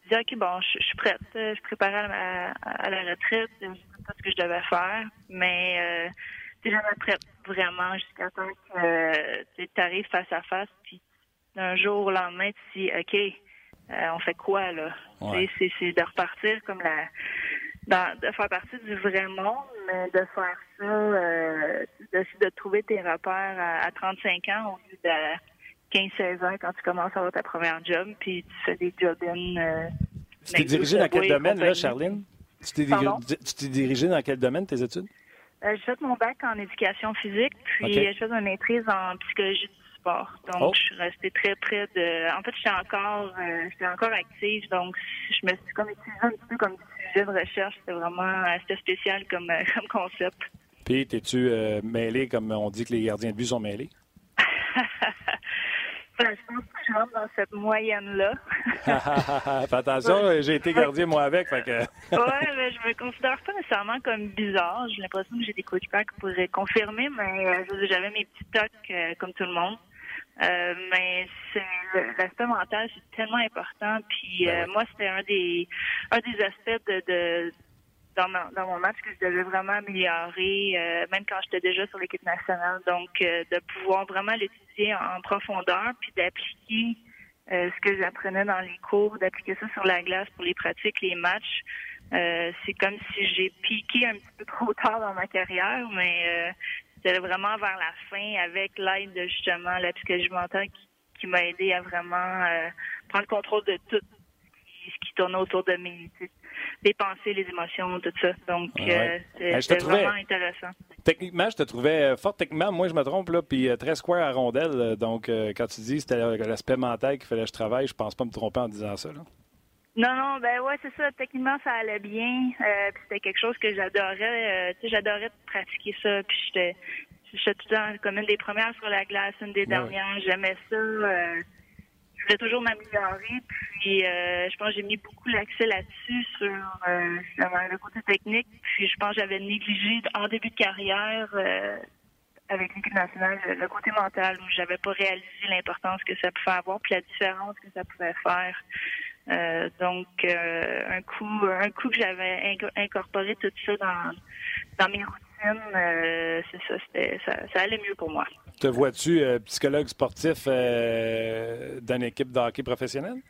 dit, OK, bon, je, je suis prête. Je suis préparée à, la- à la retraite. Je sais pas ce que je devais faire. Mais euh, tu jamais prête vraiment jusqu'à temps que tu arrives face à face. Puis d'un jour au lendemain, tu te dis, OK, euh, on fait quoi, là? Ouais. C'est, c'est de repartir comme la... Dans, de faire partie du vrai monde, mais de faire ça, euh, d'essayer de trouver tes repères à, à trente-cinq ans au lieu de quinze seize ans quand tu commences à avoir ta première job, puis tu fais des job-in. Euh, tu t'es dirigé dans quel domaine, là, Charline? Tu t'es, Pardon? tu t'es dirigé dans quel domaine, tes études? Euh, j'ai fait mon bac en éducation physique, puis Okay. j'ai fait une maîtrise en psychologie du sport. Donc, Oh. je suis restée très près de... En fait, j'étais encore, euh, j'étais encore active, donc je me suis comme utilisée un petit peu comme sujet de recherche. C'était vraiment c'était spécial comme, euh, comme concept. Puis, t'es-tu euh, mêlé, comme on dit que les gardiens de but sont mêlés? Ben, je pense que je rentre dans cette moyenne-là. Fais attention, j'ai été gardien, moi, avec. Fait que... Ouais, mais je me considère pas nécessairement comme bizarre. J'ai l'impression que j'ai des coéquipiers qui pourraient confirmer, mais euh, j'avais mes petits tocs euh, comme tout le monde. Euh, mais c'est l'aspect mental, c'est tellement important. Puis Ben euh, ouais. moi, c'était un des un des aspects de, de dans, ma, dans mon match que je devais vraiment améliorer, euh, même quand j'étais déjà sur l'équipe nationale. Donc, euh, de pouvoir vraiment l'étudier en, en profondeur, puis d'appliquer euh, ce que j'apprenais dans les cours, d'appliquer ça sur la glace pour les pratiques, les matchs. Euh, c'est comme si j'ai piqué un petit peu trop tard dans ma carrière, mais euh, c'était vraiment vers la fin avec l'aide de justement la psychologie mentale qui, qui m'a aidé à vraiment euh, prendre le contrôle de tout ce qui tournait autour de mes, les pensées, les émotions, tout ça. Donc, Ouais. euh, c'est, Ben, je te c'était trouvais- vraiment intéressant. Techniquement, je te trouvais euh, fort techniquement. Moi, je me trompe, là, puis euh, très square à rondelle. euh, Donc, euh, quand tu dis que c'était euh, l'aspect mental qu'il fallait que je travaille, je pense pas me tromper en disant ça, là. Non, non, ben ouais, c'est ça. Techniquement, ça allait bien. Euh, puis c'était quelque chose que j'adorais. Euh, tu sais, j'adorais pratiquer ça. Puis j'étais, j'étais tout le temps comme une des premières sur la glace, une des Ouais. dernières. J'aimais ça. Euh, je voulais toujours m'améliorer. Puis euh, je pense que j'ai mis beaucoup l'accès là-dessus sur, euh, sur le côté technique. Puis je pense que j'avais négligé en début de carrière euh, avec l'équipe nationale le, le côté mental où j'avais pas réalisé l'importance que ça pouvait avoir puis la différence que ça pouvait faire. Euh, donc, euh, un coup, un coup que j'avais inco- incorporé tout ça dans, dans mes routines, euh, c'est ça, c'était, ça, ça allait mieux pour moi. Te vois-tu euh, psychologue sportif euh, d'une équipe de hockey professionnelle?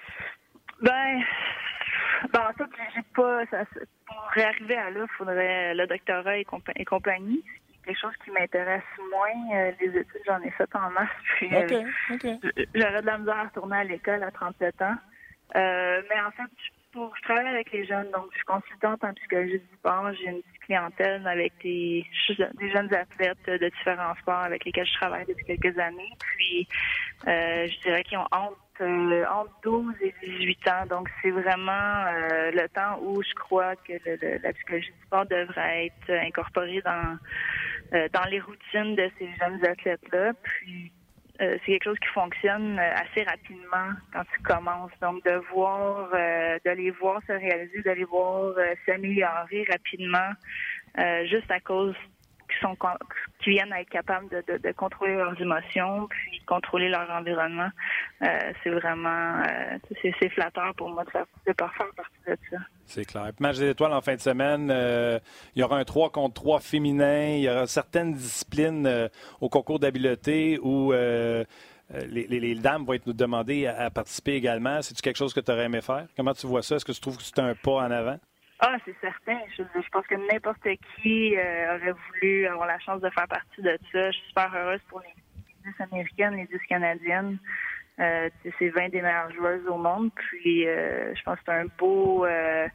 Ben, ben en fait, j'ai pas, ça, pour arriver à là, il faudrait le doctorat et, compa- et compagnie. C'est quelque chose qui m'intéresse moins. Euh, les études, j'en ai fait en masse. Puis, OK, euh, OK. j'aurais de la misère à retourner à l'école à trente-sept ans. Euh, mais en fait, je, pour, je travaille avec les jeunes, donc je suis consultante en psychologie du sport. J'ai une petite clientèle avec des, des jeunes athlètes de différents sports avec lesquels je travaille depuis quelques années. Puis, euh, je dirais qu'ils ont entre, euh, entre douze et dix-huit ans. Donc, c'est vraiment euh, le temps où je crois que le, le, la psychologie du sport devrait être incorporée dans, euh, dans les routines de ces jeunes athlètes-là. Puis, Euh, c'est quelque chose qui fonctionne euh, assez rapidement quand tu commences. Donc, de voir, euh, de les voir se réaliser, de les voir euh, s'améliorer rapidement, euh, juste à cause qu'ils sont, qu'ils viennent à être capables de, de, de contrôler leurs émotions, puis contrôler leur environnement. Euh, c'est vraiment, euh, c'est, c'est flatteur pour moi de faire, de faire partie de ça. C'est clair. Puis match des étoiles en fin de semaine, euh, il y aura un trois contre trois féminin, il y aura certaines disciplines euh, au concours d'habileté où euh, les, les, les dames vont être nous demander à, à participer également. C'est-tu quelque chose que tu aurais aimé faire? Comment tu vois ça? Est-ce que tu trouves que c'est un pas en avant? Ah, c'est certain. Je, je pense que n'importe qui euh, aurait voulu avoir la chance de faire partie de ça. Je suis super heureuse pour les dix américaines, les dix canadiennes. Euh, c'est vingt des meilleures joueuses au monde. Puis, euh, je pense que c'est un beau... Euh,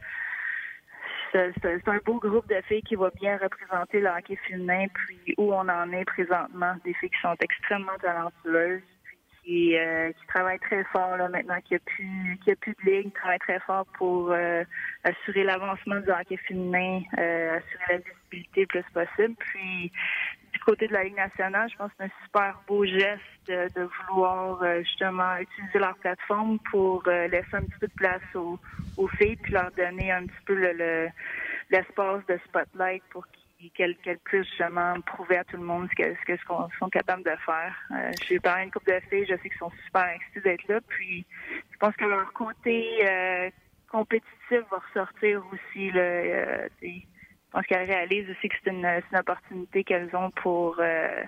c'est, c'est un beau groupe de filles qui va bien représenter le hockey féminin, puis où on en est présentement. Des filles qui sont extrêmement talentueuses, qui, euh, qui travaillent très fort là, maintenant qu'il n'y a plus qu'il y a plus de ligue, travaillent très fort pour euh, assurer l'avancement du hockey féminin, euh, assurer la visibilité le plus possible. Puis du côté de la Ligue nationale, je pense que c'est un super beau geste de, de vouloir euh, justement utiliser leur plateforme pour euh, laisser un petit peu de place aux, aux filles puis leur donner un petit peu le, le, l'espace de spotlight pour qu'ils puis qu'elles qu'elles puissent justement prouver à tout le monde ce que ce que ce qu'on sont capables de faire. Euh, j'ai parlé à une couple de filles, je sais qu'ils sont super excités d'être là, puis je pense que leur côté euh, compétitif va ressortir aussi. Là, euh, je pense qu'elles réalisent aussi que c'est une, c'est une opportunité qu'elles ont pour euh,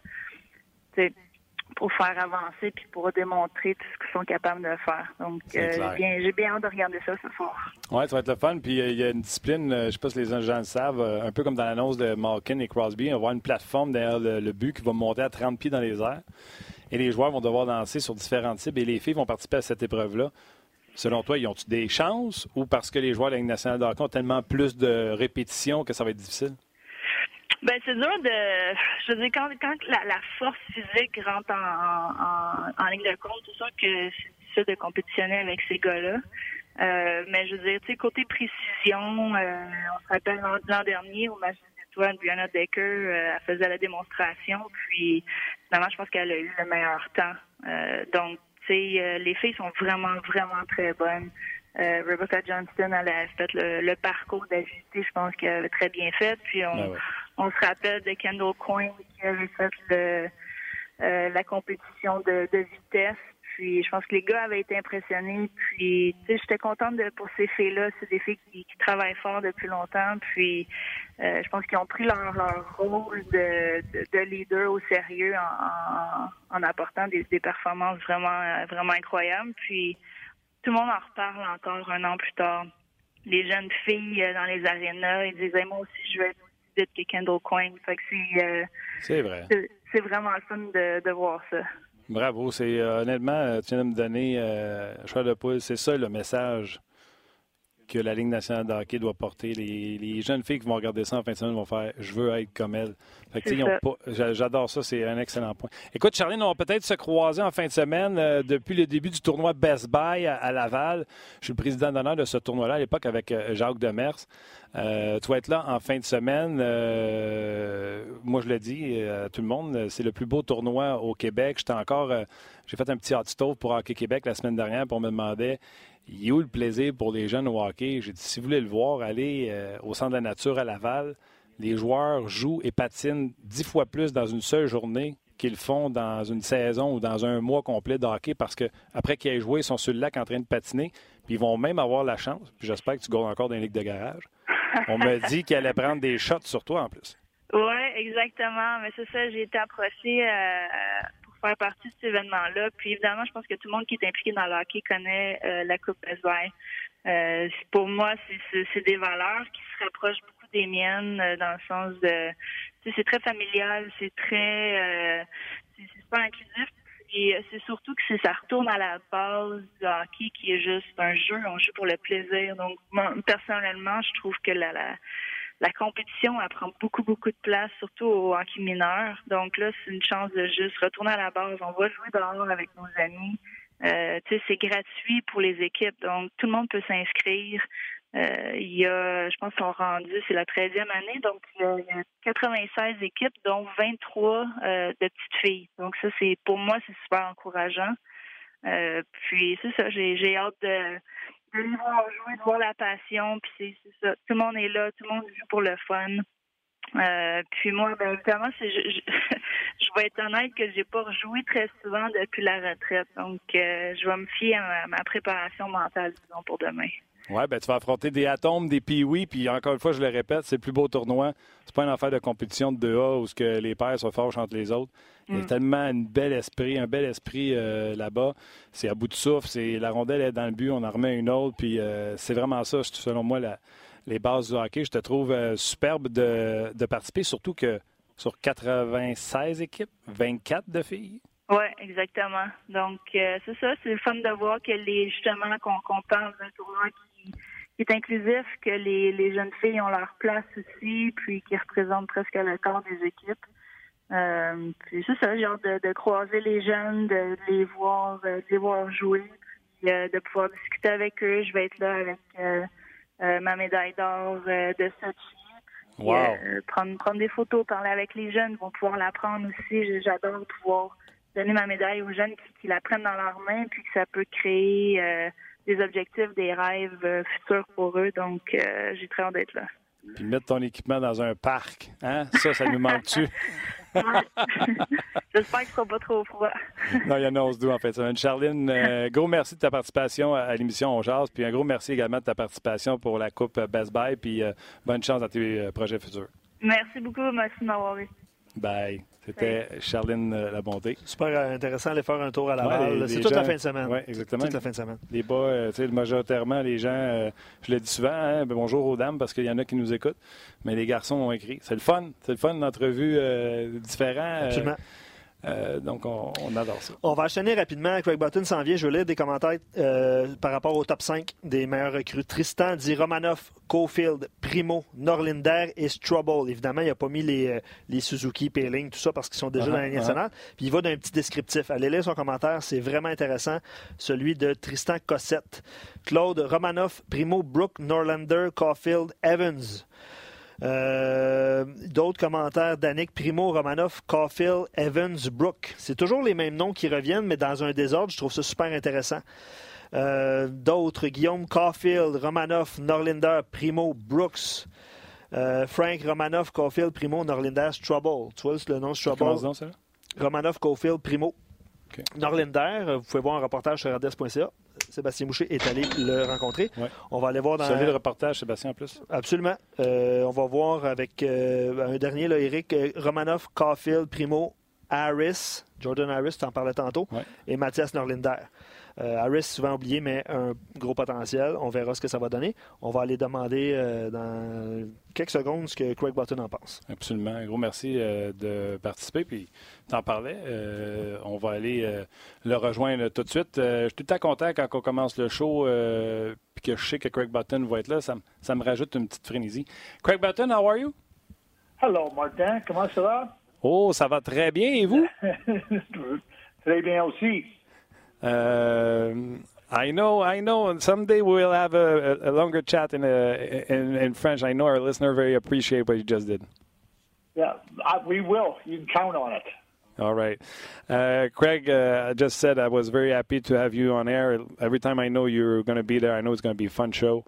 pour faire avancer puis pour démontrer tout ce qu'ils sont capables de faire. Donc, euh, j'ai, bien, j'ai bien hâte de regarder ça ce soir. Oui, ça va être le fun. Puis il y a une discipline, je ne sais pas si les gens le savent, un peu comme dans l'annonce de Malkin et Crosby, on va avoir une plateforme derrière le, le but qui va monter à trente pieds dans les airs. Et les joueurs vont devoir danser sur différents types et les filles vont participer à cette épreuve-là. Selon toi, ils ont-ils des chances ou parce que les joueurs de la Ligue nationale de hockey ont tellement plus de répétitions que ça va être difficile? Ben c'est dur de, je veux dire, quand, quand la, la force physique rentre en, en, en ligne de compte, c'est sûr que c'est difficile de compétitionner avec ces gars-là. Euh, mais je veux dire, tu sais, côté précision, euh, on se rappelle l'an, l'an dernier au match des étoiles, Brianna Decker, euh, elle faisait la démonstration, puis finalement, je pense qu'elle a eu le meilleur temps. Euh, donc, tu sais, euh, les filles sont vraiment, vraiment très bonnes. Euh, Rebecca Johnston, elle a fait le, le parcours d'agilité, je pense qu'elle avait très bien fait. Puis on, ben ouais. on se rappelle de Kendall Coyne qui avait fait le, euh, la compétition de, de vitesse. Puis je pense que les gars avaient été impressionnés. Puis tu sais, j'étais contente de, pour ces filles-là. C'est des filles qui, qui travaillent fort depuis longtemps. Puis euh, je pense qu'ils ont pris leur, leur rôle de, de, de leader au sérieux en, en, en apportant des, des performances vraiment, vraiment incroyables. Puis tout le monde en reparle encore un an plus tard. Les jeunes filles euh, dans les arénas, ils disaient, moi aussi, je veux être aussi vite que Kendall Coyne. Fait que c'est, euh, c'est vrai. C'est, c'est vraiment le fun de, de voir ça. Bravo. C'est, euh, honnêtement, tu viens de me donner euh, choix de poule. C'est ça le message que la Ligue nationale de hockey doit porter. Les, les jeunes filles qui vont regarder ça en fin de semaine vont faire « Je veux être comme elle ». Fait que, ils ont pas, j'adore ça, c'est un excellent point. Écoute, Charline, on va peut-être se croiser en fin de semaine euh, depuis le début du tournoi Best Buy à, à Laval. Je suis le président d'honneur de ce tournoi-là à l'époque avec euh, Jacques Demers. Euh, tu vas être là en fin de semaine. Euh, moi, je le dis à tout le monde, c'est le plus beau tournoi au Québec. J'étais encore, euh, j'ai fait un petit hot stove pour Hockey Québec la semaine dernière, puis on me demandait il est où le plaisir pour les jeunes au hockey? J'ai dit, si vous voulez le voir, allez euh, au Centre de la Nature à Laval. Les joueurs jouent et patinent dix fois plus dans une seule journée qu'ils font dans une saison ou dans un mois complet de hockey parce qu'après qu'ils aient joué, ils sont sur le lac en train de patiner. Puis ils vont même avoir la chance, puis j'espère que tu gagnes encore dans les ligues de garage. On m'a dit qu'elle allait prendre des shots sur toi en plus. Oui, exactement. Mais c'est ça, j'ai été approchée euh, pour faire partie de cet événement-là. Puis évidemment, je pense que tout le monde qui est impliqué dans le hockey connaît euh, la Coupe Best Buy. Euh, pour moi, c'est, c'est, c'est des valeurs qui se rapprochent beaucoup des miennes euh, dans le sens de, tu sais, c'est très familial, c'est très, euh, c'est, c'est super inclusif. Et c'est surtout que c'est, ça retourne à la base du hockey qui est juste un jeu, on joue pour le plaisir. Donc, moi, personnellement, je trouve que la, la, la compétition, elle prend beaucoup, beaucoup de place, surtout au hockey mineur. Donc là, c'est une chance de juste retourner à la base. On va jouer dehors avec nos amis. Euh, tu sais, c'est gratuit pour les équipes, donc tout le monde peut s'inscrire. Euh, il y a, je pense, qu'on rendu, c'est la treizième année, donc il y a, il y a quatre-vingt-seize équipes, dont vingt-trois euh, de petites filles. Donc ça, c'est pour moi, c'est super encourageant. Euh, puis c'est ça, j'ai, j'ai hâte de, de les voir jouer, de voir la passion. Puis c'est, c'est ça, tout le monde est là, tout le monde joue pour le fun. Euh, puis moi, ben évidemment, c'est, je, je, je vais être honnête que j'ai pas rejoué très souvent depuis la retraite. Donc, euh, je vais me fier à ma, ma préparation mentale, disons, pour demain. Oui, ben tu vas affronter des Atomes, des Pee-Wee, puis encore une fois, je le répète, c'est le plus beau tournoi. C'est pas une affaire de compétition de deux A où ce que les pairs sont forts entre les autres. Il y a mm. tellement un bel esprit, un bel esprit euh, là-bas. C'est à bout de souffle, c'est la rondelle est dans le but, on en remet une autre, puis euh, c'est vraiment ça, selon moi, la, les bases du hockey. Je te trouve euh, superbe de, de participer, surtout que sur quatre-vingt-seize équipes, vingt-quatre de filles. Oui, exactement. Donc, euh, c'est ça, c'est le fun de voir que les justement qu'on, qu'on parle d'un tournoi qui, qui est inclusif, que les, les jeunes filles ont leur place aussi, puis qui représentent presque le corps des équipes. Euh, puis c'est ça, j'ai hâte de, de croiser les jeunes, de, de les voir, de les voir jouer, puis euh, de pouvoir discuter avec eux. Je vais être là avec euh, euh, ma médaille d'or euh, de Sochi. Wow. Euh, prendre, prendre des photos, parler avec les jeunes, ils vont pouvoir l'apprendre aussi. J'adore pouvoir donner ma médaille aux jeunes qui, qui la prennent dans leurs mains, puis que ça peut créer euh, des objectifs, des rêves euh, futurs pour eux. Donc, euh, j'ai très hâte d'être là. Puis mettre ton équipement dans un parc, hein? Ça, ça nous manque-tu? J'espère qu'il ne sera pas trop froid. Non, il y en a onze douze en fait. Charline, euh, gros merci de ta participation à l'émission On Jase. Puis un gros merci également de ta participation pour la Coupe Best Buy. Puis euh, bonne chance dans tes euh, projets futurs. Merci beaucoup. Merci de m'avoir eu. Bye. C'était Charline euh, Labonté. Super intéressant d'aller faire un tour à Laval. Ouais, les, c'est les toute gens... la fin de semaine. Oui, exactement. Toute la fin de semaine. Les bas, euh, tu sais, majoritairement, les gens, euh, je le dis souvent, hein, ben, bonjour aux dames parce qu'il y en a qui nous écoutent, mais les garçons ont écrit. C'est le fun. C'est le fun, une entrevue euh, différente. Absolument. Euh, Euh, donc, on, on adore ça. On va enchaîner rapidement. Craig Button s'en vient. Je veux lire des commentaires euh, par rapport au top cinq des meilleurs recrues. Tristan dit Romanoff, Caulfield, Primo, Norlinder et Struble. Évidemment, il n'a pas mis les, les Suzuki, Payling, tout ça parce qu'ils sont déjà uh-huh, dans la Ligue nationale. Uh-huh. Puis il va d'un petit descriptif. Allez lire son commentaire. C'est vraiment intéressant. Celui de Tristan Cossette. Claude, Romanoff, Primo, Brook, Norlander, Caulfield, Evans. Euh, d'autres commentaires d'Annick Primo, Romanoff, Caulfield, Evans, Brook. C'est toujours les mêmes noms qui reviennent, mais dans un désordre. Je trouve ça super intéressant. Euh, d'autres, Guillaume, Caulfield, Romanoff, Norlinder, Primo, Brooks. Euh, Frank, Romanoff, Caulfield, Primo, Norlinder, Struble. Tu vois le nom Struble? Comment ça? Romanoff, Caulfield, Primo. Okay. Norlinder, vous pouvez voir un reportage sur R D S point C A. Sébastien Boucher est allé le rencontrer. Ouais. On va aller voir dans... Vous savez le reportage, Sébastien, en plus? Absolument. Euh, on va voir avec euh, un dernier, là, Eric, euh, Romanoff, Caulfield, Primo, Harris, Jordan Harris, tu en parlais tantôt, ouais. et Mathias Norlinder. Euh, Harris, souvent oublié, mais un gros potentiel. On verra ce que ça va donner. On va aller demander euh, dans quelques secondes ce que Craig Button en pense. Absolument. Un gros merci euh, de participer. Puis, t'en parlais. Euh, on va aller euh, le rejoindre tout de suite. Euh, je suis tout le temps content quand on commence le show euh, puis que je sais que Craig Button va être là. Ça, ça me rajoute une petite frénésie. Craig Button, how are you? Hello, Martin. Comment ça va? Oh, ça va très bien. Et vous? Très bien aussi. Uh, I know, I know. Someday we'll have a, a longer chat in, a, in in French. I know our listener very appreciate what you just did. Yeah, I, we will. You can count on it. All right. Uh, Craig, uh, I just said I was very happy to have you on air. Every time I know you're going to be there, I know it's going to be a fun show.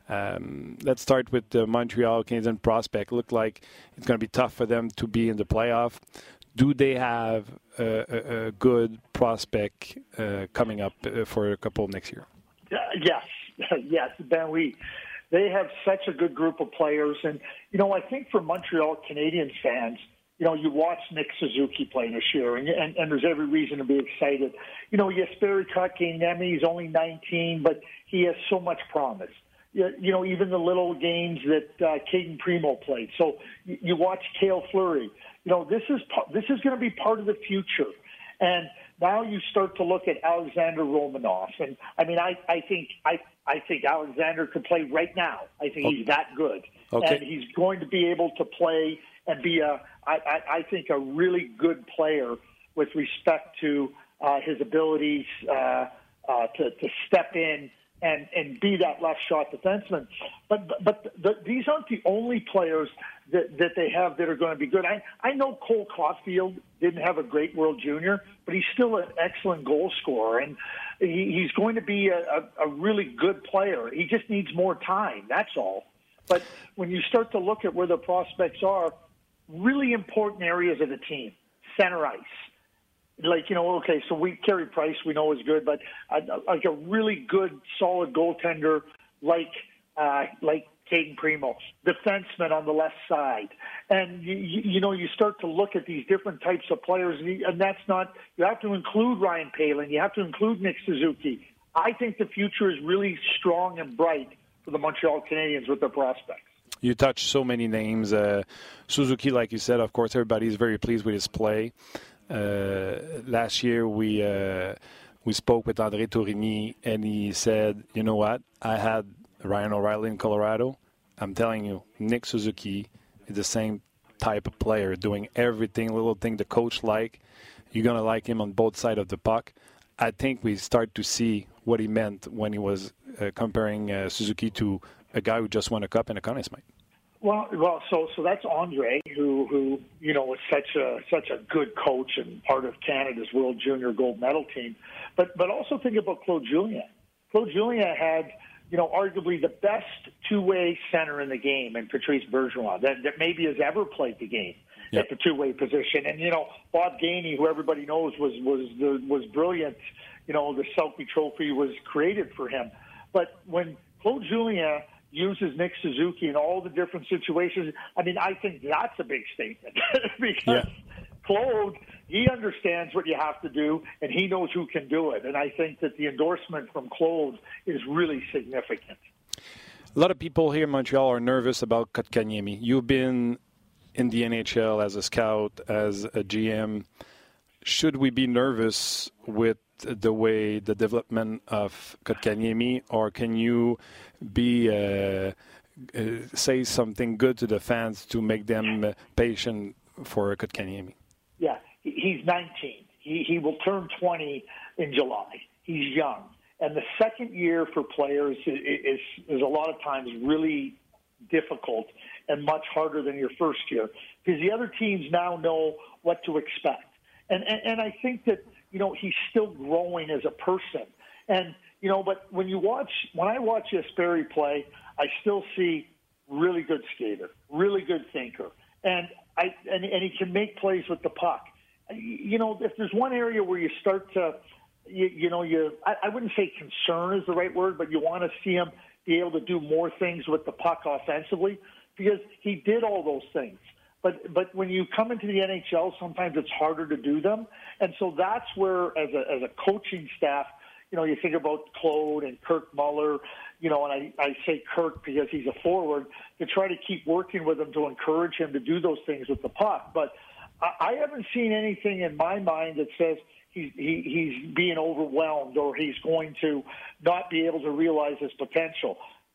Um, let's start with the Montreal Canadiens prospect. Look like it's going to be tough for them to be in the playoff. Do they have a, a, a good prospect uh, coming up uh, for a couple next year? Uh, yes, yes, Ben. We they have such a good group of players, and you know, I think for Montreal Canadiens fans, you know, you watch Nick Suzuki play this year, and and, and there's every reason to be excited. You know, Jesperi Kotkaniemi, he's only nineteen, but he has so much promise. You know, even the little games that uh, Caden Primo played. So you, you watch Cale Fleury. You know, this is this is going to be part of the future. And now you start to look at Alexander Romanov. And I mean, I, I think I I think Alexander could play right now. I think okay. he's that good, okay. and he's going to be able to play and be a I, I, I think a really good player with respect to uh, his abilities uh, uh, to to step in. And, and be that left shot defenseman. But but the, these aren't the only players that, that they have that are going to be good. I, I know Cole Caulfield didn't have a great World Junior, but he's still an excellent goal scorer. And he, he's going to be a, a, a really good player. He just needs more time, that's all. But when you start to look at where the prospects are, really important areas of the team, center ice. Like, you know, okay, so we Carey Price we know is good, but uh, like a really good, solid goaltender like uh, like Caden Primo, defenseman on the left side. And, you, you know, you start to look at these different types of players, and, you, and that's not – you have to include Ryan Palin. You have to include Nick Suzuki. I think the future is really strong and bright for the Montreal Canadiens with their prospects. You touched so many names. Uh, Suzuki, like you said, of course, everybody is very pleased with his play. Uh, last year we uh, we spoke with André Tourigny, and he said, you know what, I had Ryan O'Reilly in Colorado. I'm telling you, Nick Suzuki is the same type of player, doing everything, little thing the coach like. You're going to like him on both sides of the puck. I think we start to see what he meant when he was uh, comparing uh, Suzuki to a guy who just won a cup and a Conn Smythe. Well, well, so so that's Andre, who who you know was such a such a good coach and part of Canada's World Junior Gold Medal team. But but also think about Claude Julien. Claude Julien had you know, arguably the best two-way center in the game, and Patrice Bergeron, that, that maybe has ever played the game yep. at the two-way position. And, you know, Bob Gainey, who everybody knows was was the, was brilliant, you know, the Selke Trophy was created for him. But when Claude Julien uses Nick Suzuki in all the different situations, I mean, I think that's a big statement because yeah. Claude, he understands what you have to do, and he knows who can do it. And I think that the endorsement from Claude is really significant. A lot of people here in Montreal are nervous about Kotkaniemi. You've been in the N H L as a scout, as a G M. Should we be nervous with the way the development of Kotkaniemi, or can you be uh, uh, say something good to the fans to make them uh, patient for Kotkaniemi? Yeah, he's nineteen. He he will turn twenty in July. He's young, and the second year for players is is, is a lot of times really difficult and much harder than your first year because the other teams now know what to expect. And, and and I think that, you know, he's still growing as a person. And, you know, but when you watch, when I watch Jesperi play, I still see really good skater, really good thinker. And I and, and he can make plays with the puck. You know, if there's one area where you start to, you, you know, you I, I wouldn't say concern is the right word, but you want to see him be able to do more things with the puck offensively because he did all those things. But but when you come into the N H L, sometimes it's harder to do them. And so that's where, as a as a coaching staff, you know, you think about Claude and Kirk Muller, you know, and I, I say Kirk because he's a forward, to try to keep working with him to encourage him to do those things with the puck. But I, I haven't seen anything in my mind that says he's, he, he's being overwhelmed or he's going to not be able to realize his potential.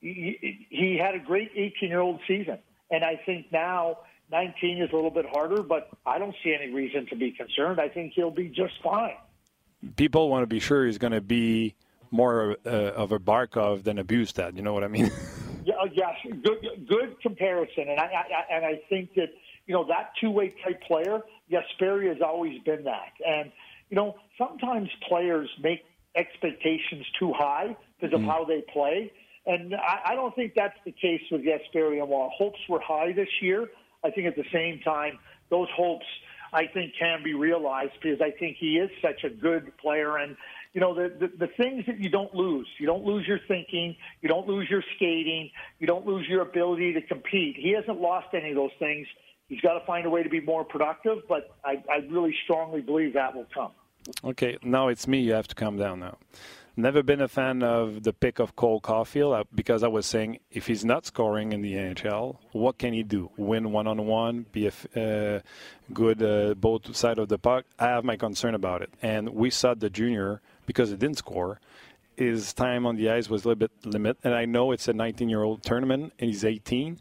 He, he had a great eighteen-year-old season. And I think now nineteen is a little bit harder, but I don't see any reason to be concerned. I think he'll be just fine. People want to be sure he's going to be more uh, of a Barkov than a Bustad. You know what I mean? yeah, yes, good, good comparison. And I, I and I think that, you know, that two-way type player, Jesperi has always been that. And, you know, sometimes players make expectations too high because of mm. how they play. And I, I don't think that's the case with Jesperi. And while hopes were high this year, I think at the same time, those hopes, I think, can be realized because I think he is such a good player. And, you know, the, the, the things that you don't lose, you don't lose your thinking, you don't lose your skating, you don't lose your ability to compete. He hasn't lost any of those things. He's got to find a way to be more productive, but I, I really strongly believe that will come. Okay, now it's me. You have to calm down now. Never been a fan of the pick of Cole Caulfield because I was saying if he's not scoring in the N H L, what can he do? Win one-on-one, be a uh, good uh, both side of the puck? I have my concern about it. And we saw the junior, because he didn't score, his time on the ice was a little bit limited. And I know it's a nineteen-year-old tournament and he's eighteen.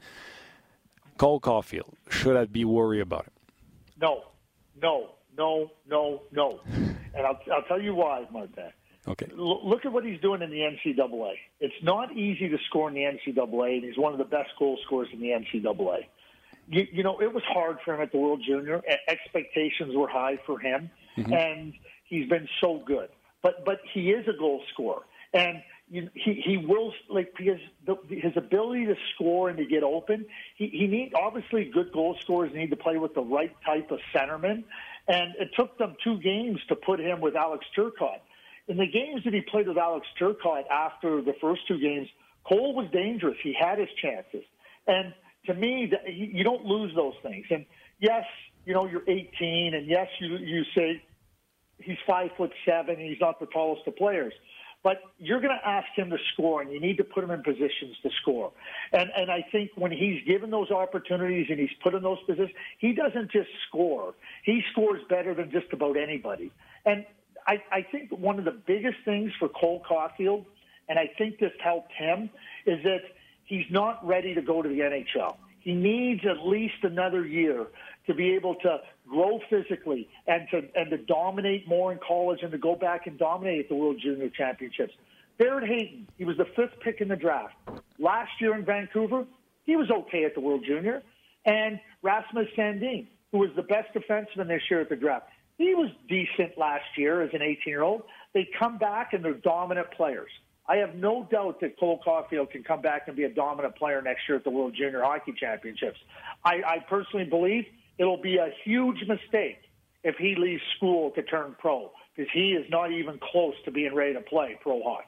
Cole Caulfield, should I be worried about it? No, no, no, no, no. And I'll, I'll tell you why, Martin. Okay. Look at what he's doing in the N C double A. It's not easy to score in the N C double A, and he's one of the best goal scorers in the N C double A. You, you know, it was hard for him at the World Junior. Expectations were high for him, mm-hmm. and he's been so good. But but he is a goal scorer, and you, he he will like because the, his ability to score and to get open. He he need obviously good goal scorers need to play with the right type of centerman, and it took them two games to put him with Alex Turcotte. In the games that he played with Alex Turcotte after the first two games, Cole was dangerous. He had his chances. And to me, you don't lose those things. And yes, you know, you're eighteen, and yes, you you say he's five foot seven, and he's not the tallest of players. But you're going to ask him to score, and you need to put him in positions to score. And and I think when he's given those opportunities and he's put in those positions, he doesn't just score. He scores better than just about anybody. And I, I think one of the biggest things for Cole Caulfield, and I think this helped him, is that he's not ready to go to the N H L. He needs at least another year to be able to grow physically and to and to dominate more in college and to go back and dominate at the World Junior Championships. Barrett Hayton, he was the fifth pick in the draft. Last year in Vancouver, he was okay at the World Junior. And Rasmus Sandin, who was the best defenseman this year at the draft. He was decent last year as an eighteen-year-old. They come back and they're dominant players. I have no doubt that Cole Caulfield can come back and be a dominant player next year at the World Junior Hockey Championships. I, I personally believe it'll be a huge mistake if he leaves school to turn pro, because he is not even close to being ready to play pro hockey.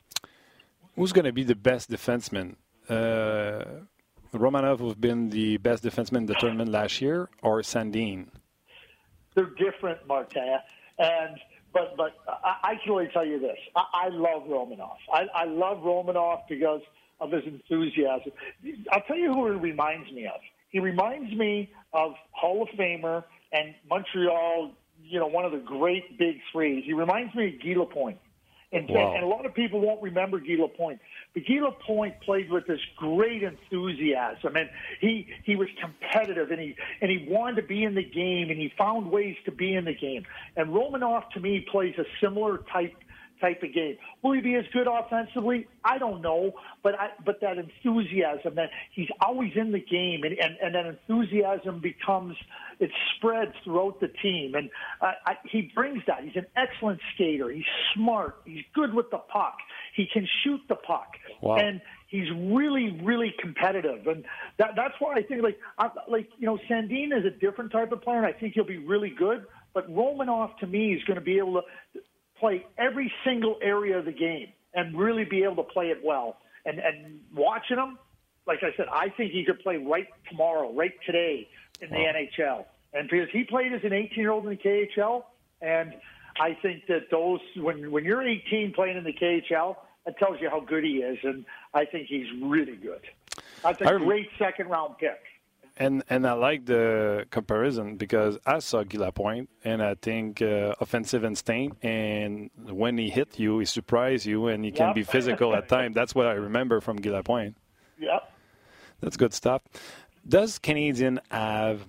Who's going to be the best defenseman? Uh, Romanov has been the best defenseman in the tournament last year, or Sandin? They're different, Martin. And but but I, I can only tell you this: I, I love Romanov. I, I love Romanov because of his enthusiasm. I'll tell you who he reminds me of. He reminds me of Hall of Famer and Montreal. You know, one of the great big three. He reminds me of Guy Lapointe. And, wow. and a lot of people won't remember Guy Lapointe. But Guy Lapointe played with this great enthusiasm, and he he was competitive, and he and he wanted to be in the game, and he found ways to be in the game. And Romanov, to me, plays a similar type type of game. Will he be as good offensively? I don't know, but I, but that enthusiasm, that he's always in the game, and, and, and that enthusiasm becomes, it spreads throughout the team, and uh, I, he brings that. He's an excellent skater. He's smart. He's good with the puck. He can shoot the puck, wow. and he's really, really competitive, and that, that's why I think, like, I, like you know, Sandin is a different type of player, and I think he'll be really good. But Romanov, to me, is going to be able to play every single area of the game and really be able to play it well. And, and watching him, like I said, I think he could play right tomorrow, right today in the wow. N H L. And because he played as an eighteen-year-old in the K H L, and I think that those when when you're eighteen playing in the K H L, that tells you how good he is, and I think he's really good. That's a rem- great second-round pick. And and I like the comparison because I saw Guy Lapointe, and I think uh, offensive instinct, and when he hit you, he surprised you, and he can yep. be physical at times. That's what I remember from Guy Lapointe. Yep. That's good stuff. Does Canadian have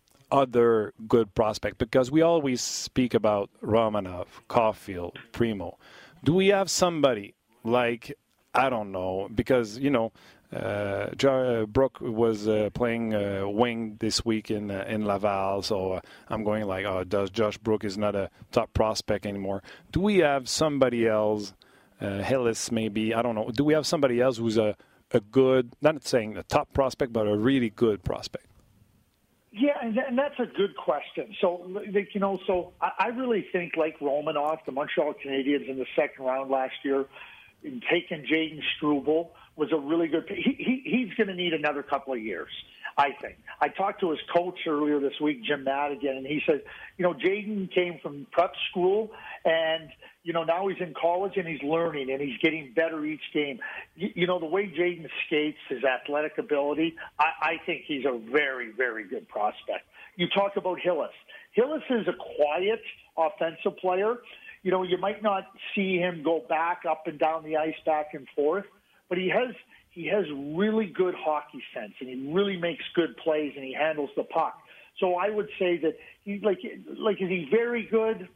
other good prospects? Because we always speak about Romanov, Caulfield, Primo. Do we have somebody like, I don't know, because, you know, Uh, Joe Brook was uh, playing uh, wing this week in uh, in Laval, so uh, I'm going like, oh, does Josh Brook is not a top prospect anymore? Do we have somebody else, uh, Hillis maybe, I don't know, do we have somebody else who's a, a good, not saying a top prospect, but a really good prospect? Yeah, and, and that's a good question. So, like, you know, so I, I really think like Romanov, the Montreal Canadiens in the second round last year, taking Jaden Struble was a really good – he, he he's going to need another couple of years, I think. I talked to his coach earlier this week, Jim Madigan, and he said, you know, Jaden came from prep school, and, you know, now he's in college and he's learning and he's getting better each game. You, you know, the way Jaden skates, his athletic ability, I, I think he's a very, very good prospect. You talk about Hillis. Hillis is a quiet offensive player. You know, you might not see him go back up and down the ice, back and forth, but he has he has really good hockey sense, and he really makes good plays, and he handles the puck. So I would say that he like like is he very good?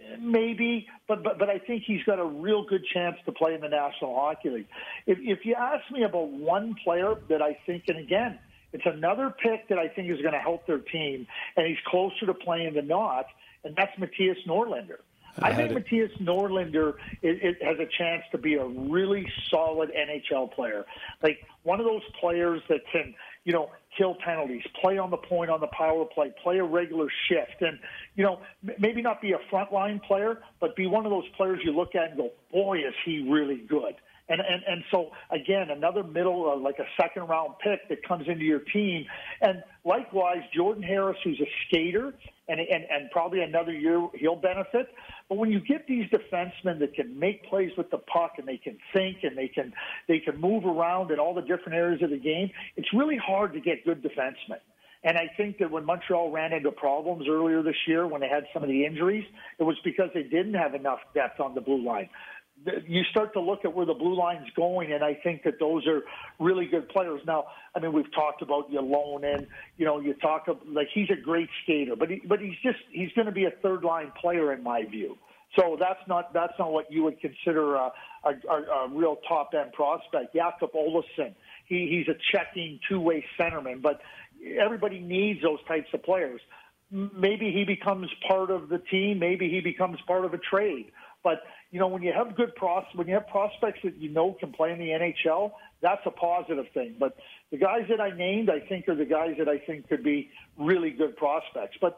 Maybe, but but but I think he's got a real good chance to play in the National Hockey League. If if you ask me about one player that I think, and again, it's another pick that I think is going to help their team, and he's closer to playing than not, and that's Matthias Norlinder. I, I think Matthias Norlinder it, it has a chance to be a really solid N H L player. Like one of those players that can, you know, kill penalties, play on the point on the power play, play a regular shift, and, you know, m- maybe not be a frontline player, but be one of those players you look at and go, boy, is he really good. And, and and so, again, another middle, uh, like a second-round pick that comes into your team. And likewise, Jordan Harris, who's a skater, and, and, and probably another year he'll benefit. But when you get these defensemen that can make plays with the puck and they can think and they can they can move around in all the different areas of the game, it's really hard to get good defensemen. And I think that when Montreal ran into problems earlier this year, when they had some of the injuries, it was because they didn't have enough depth on the blue line. You start to look at where the blue line's going, and I think that those are really good players. Now, I mean, we've talked about Ylonen, you know, you talk about, like, he's a great skater, but he, but he's just, he's going to be a third line player in my view. So that's not, that's not what you would consider a, a, a real top end prospect. Jakob Olofsson, he, he's a checking two-way centerman, but everybody needs those types of players. Maybe he becomes part of the team. Maybe he becomes part of a trade. But, you know, when you have good pros, when you have prospects that you know can play in the N H L, that's a positive thing. But the guys that I named, I think, are the guys that I think could be really good prospects. But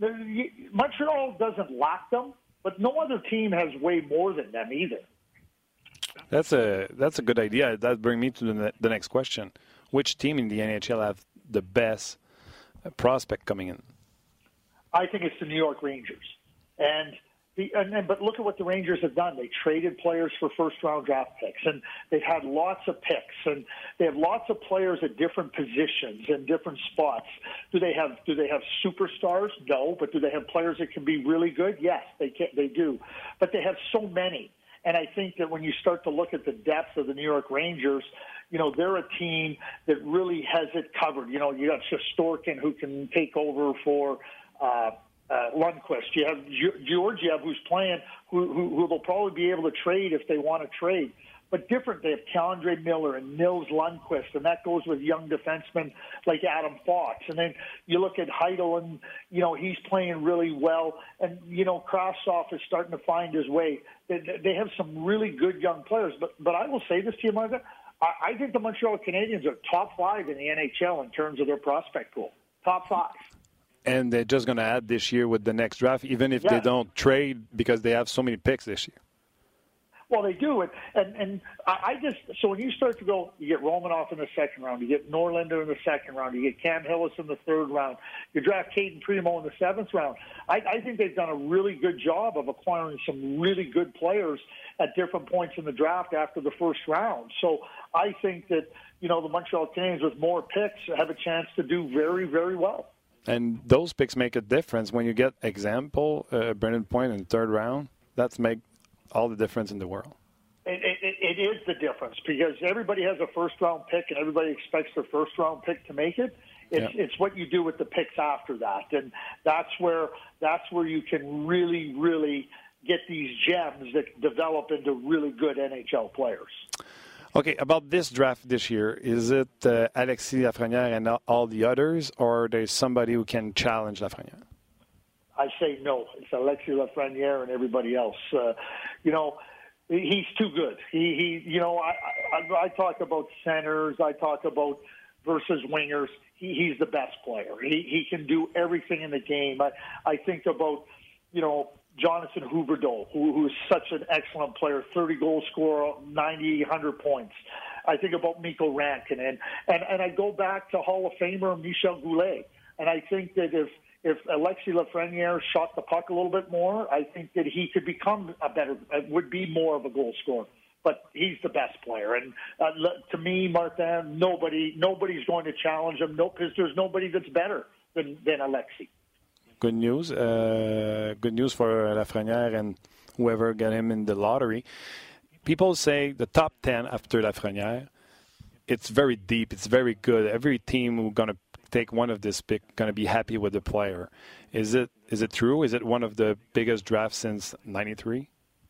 Montreal doesn't lack them, but no other team has way more than them either. That's a that's a good idea. That brings me to the, the next question. Which team in the N H L have the best prospect coming in? I think it's the New York Rangers. And the and then, but look at what the Rangers have done. They traded players for first-round draft picks, and they've had lots of picks, and they have lots of players at different positions and different spots. Do they have do they have superstars? No, but do they have players that can be really good? Yes, they can. They do, but they have so many. And I think that when you start to look at the depth of the New York Rangers, you know, they're a team that really has it covered. You know, you got Shesterkin who can take over for uh, uh, Lundqvist. You have Georgiev who's playing, who, who, who they'll probably be able to trade if they want to trade. But different, they have K'Andre Miller and Nils Lundqvist, and that goes with young defensemen like Adam Fox. And then you look at Heidel, and, you know, he's playing really well. And, you know, Krasov is starting to find his way. They, they have some really good young players. But but I will say this to you, Martha, I, I think the Montreal Canadiens are top five in the N H L in terms of their prospect pool. Top five. And they're just going to add this year with the next draft, even if yeah. they don't trade, because they have so many picks this year. Well, they do, and and, and I just so when you start to go, you get Romanoff in the second round, you get Norlinder in the second round, you get Cam Hillis in the third round, you draft Caden Primo in the seventh round. I, I think they've done a really good job of acquiring some really good players at different points in the draft after the first round. So I think that, you know, the Montreal Canadiens with more picks have a chance to do very, very well. And those picks make a difference when you get, example, uh, Brendan Point in the third round. That's make all the difference in the world. It, it, it is the difference because everybody has a first-round pick and everybody expects their first-round pick to make it. It's, yeah. it's what you do with the picks after that, and that's where that's where you can really, really get these gems that develop into really good N H L players. Okay, about this draft this year, is it uh, Alexis Lafrenière and all the others, or there's somebody who can challenge Lafrenière? I say no. It's Alexis Lafrenière and everybody else. Uh, you know, he's too good. He, he you know, I, I, I talk about centers. I talk about versus wingers. He, he's the best player. He, he can do everything in the game. I, I think about, you know, Jonathan Huberdeau, who, who is such an excellent player, thirty goal scorer, ninety, one hundred points. I think about Mikko Rankin. And, and, and I go back to Hall of Famer Michel Goulet. And I think that if If Alexis Lafrenière shot the puck a little bit more, I think that he could become a better, would be more of a goal scorer. But he's the best player, and uh, to me, Martin, nobody, nobody's going to challenge him. No, because there's nobody that's better than than Alexis. Good news. Uh, good news for Lafrenière and whoever got him in the lottery. People say the top ten after Lafrenière. It's very deep. It's very good. Every team who's going to take one of this pick going to be happy with the player. Is it is it true? Is it one of the biggest drafts since ninety-three?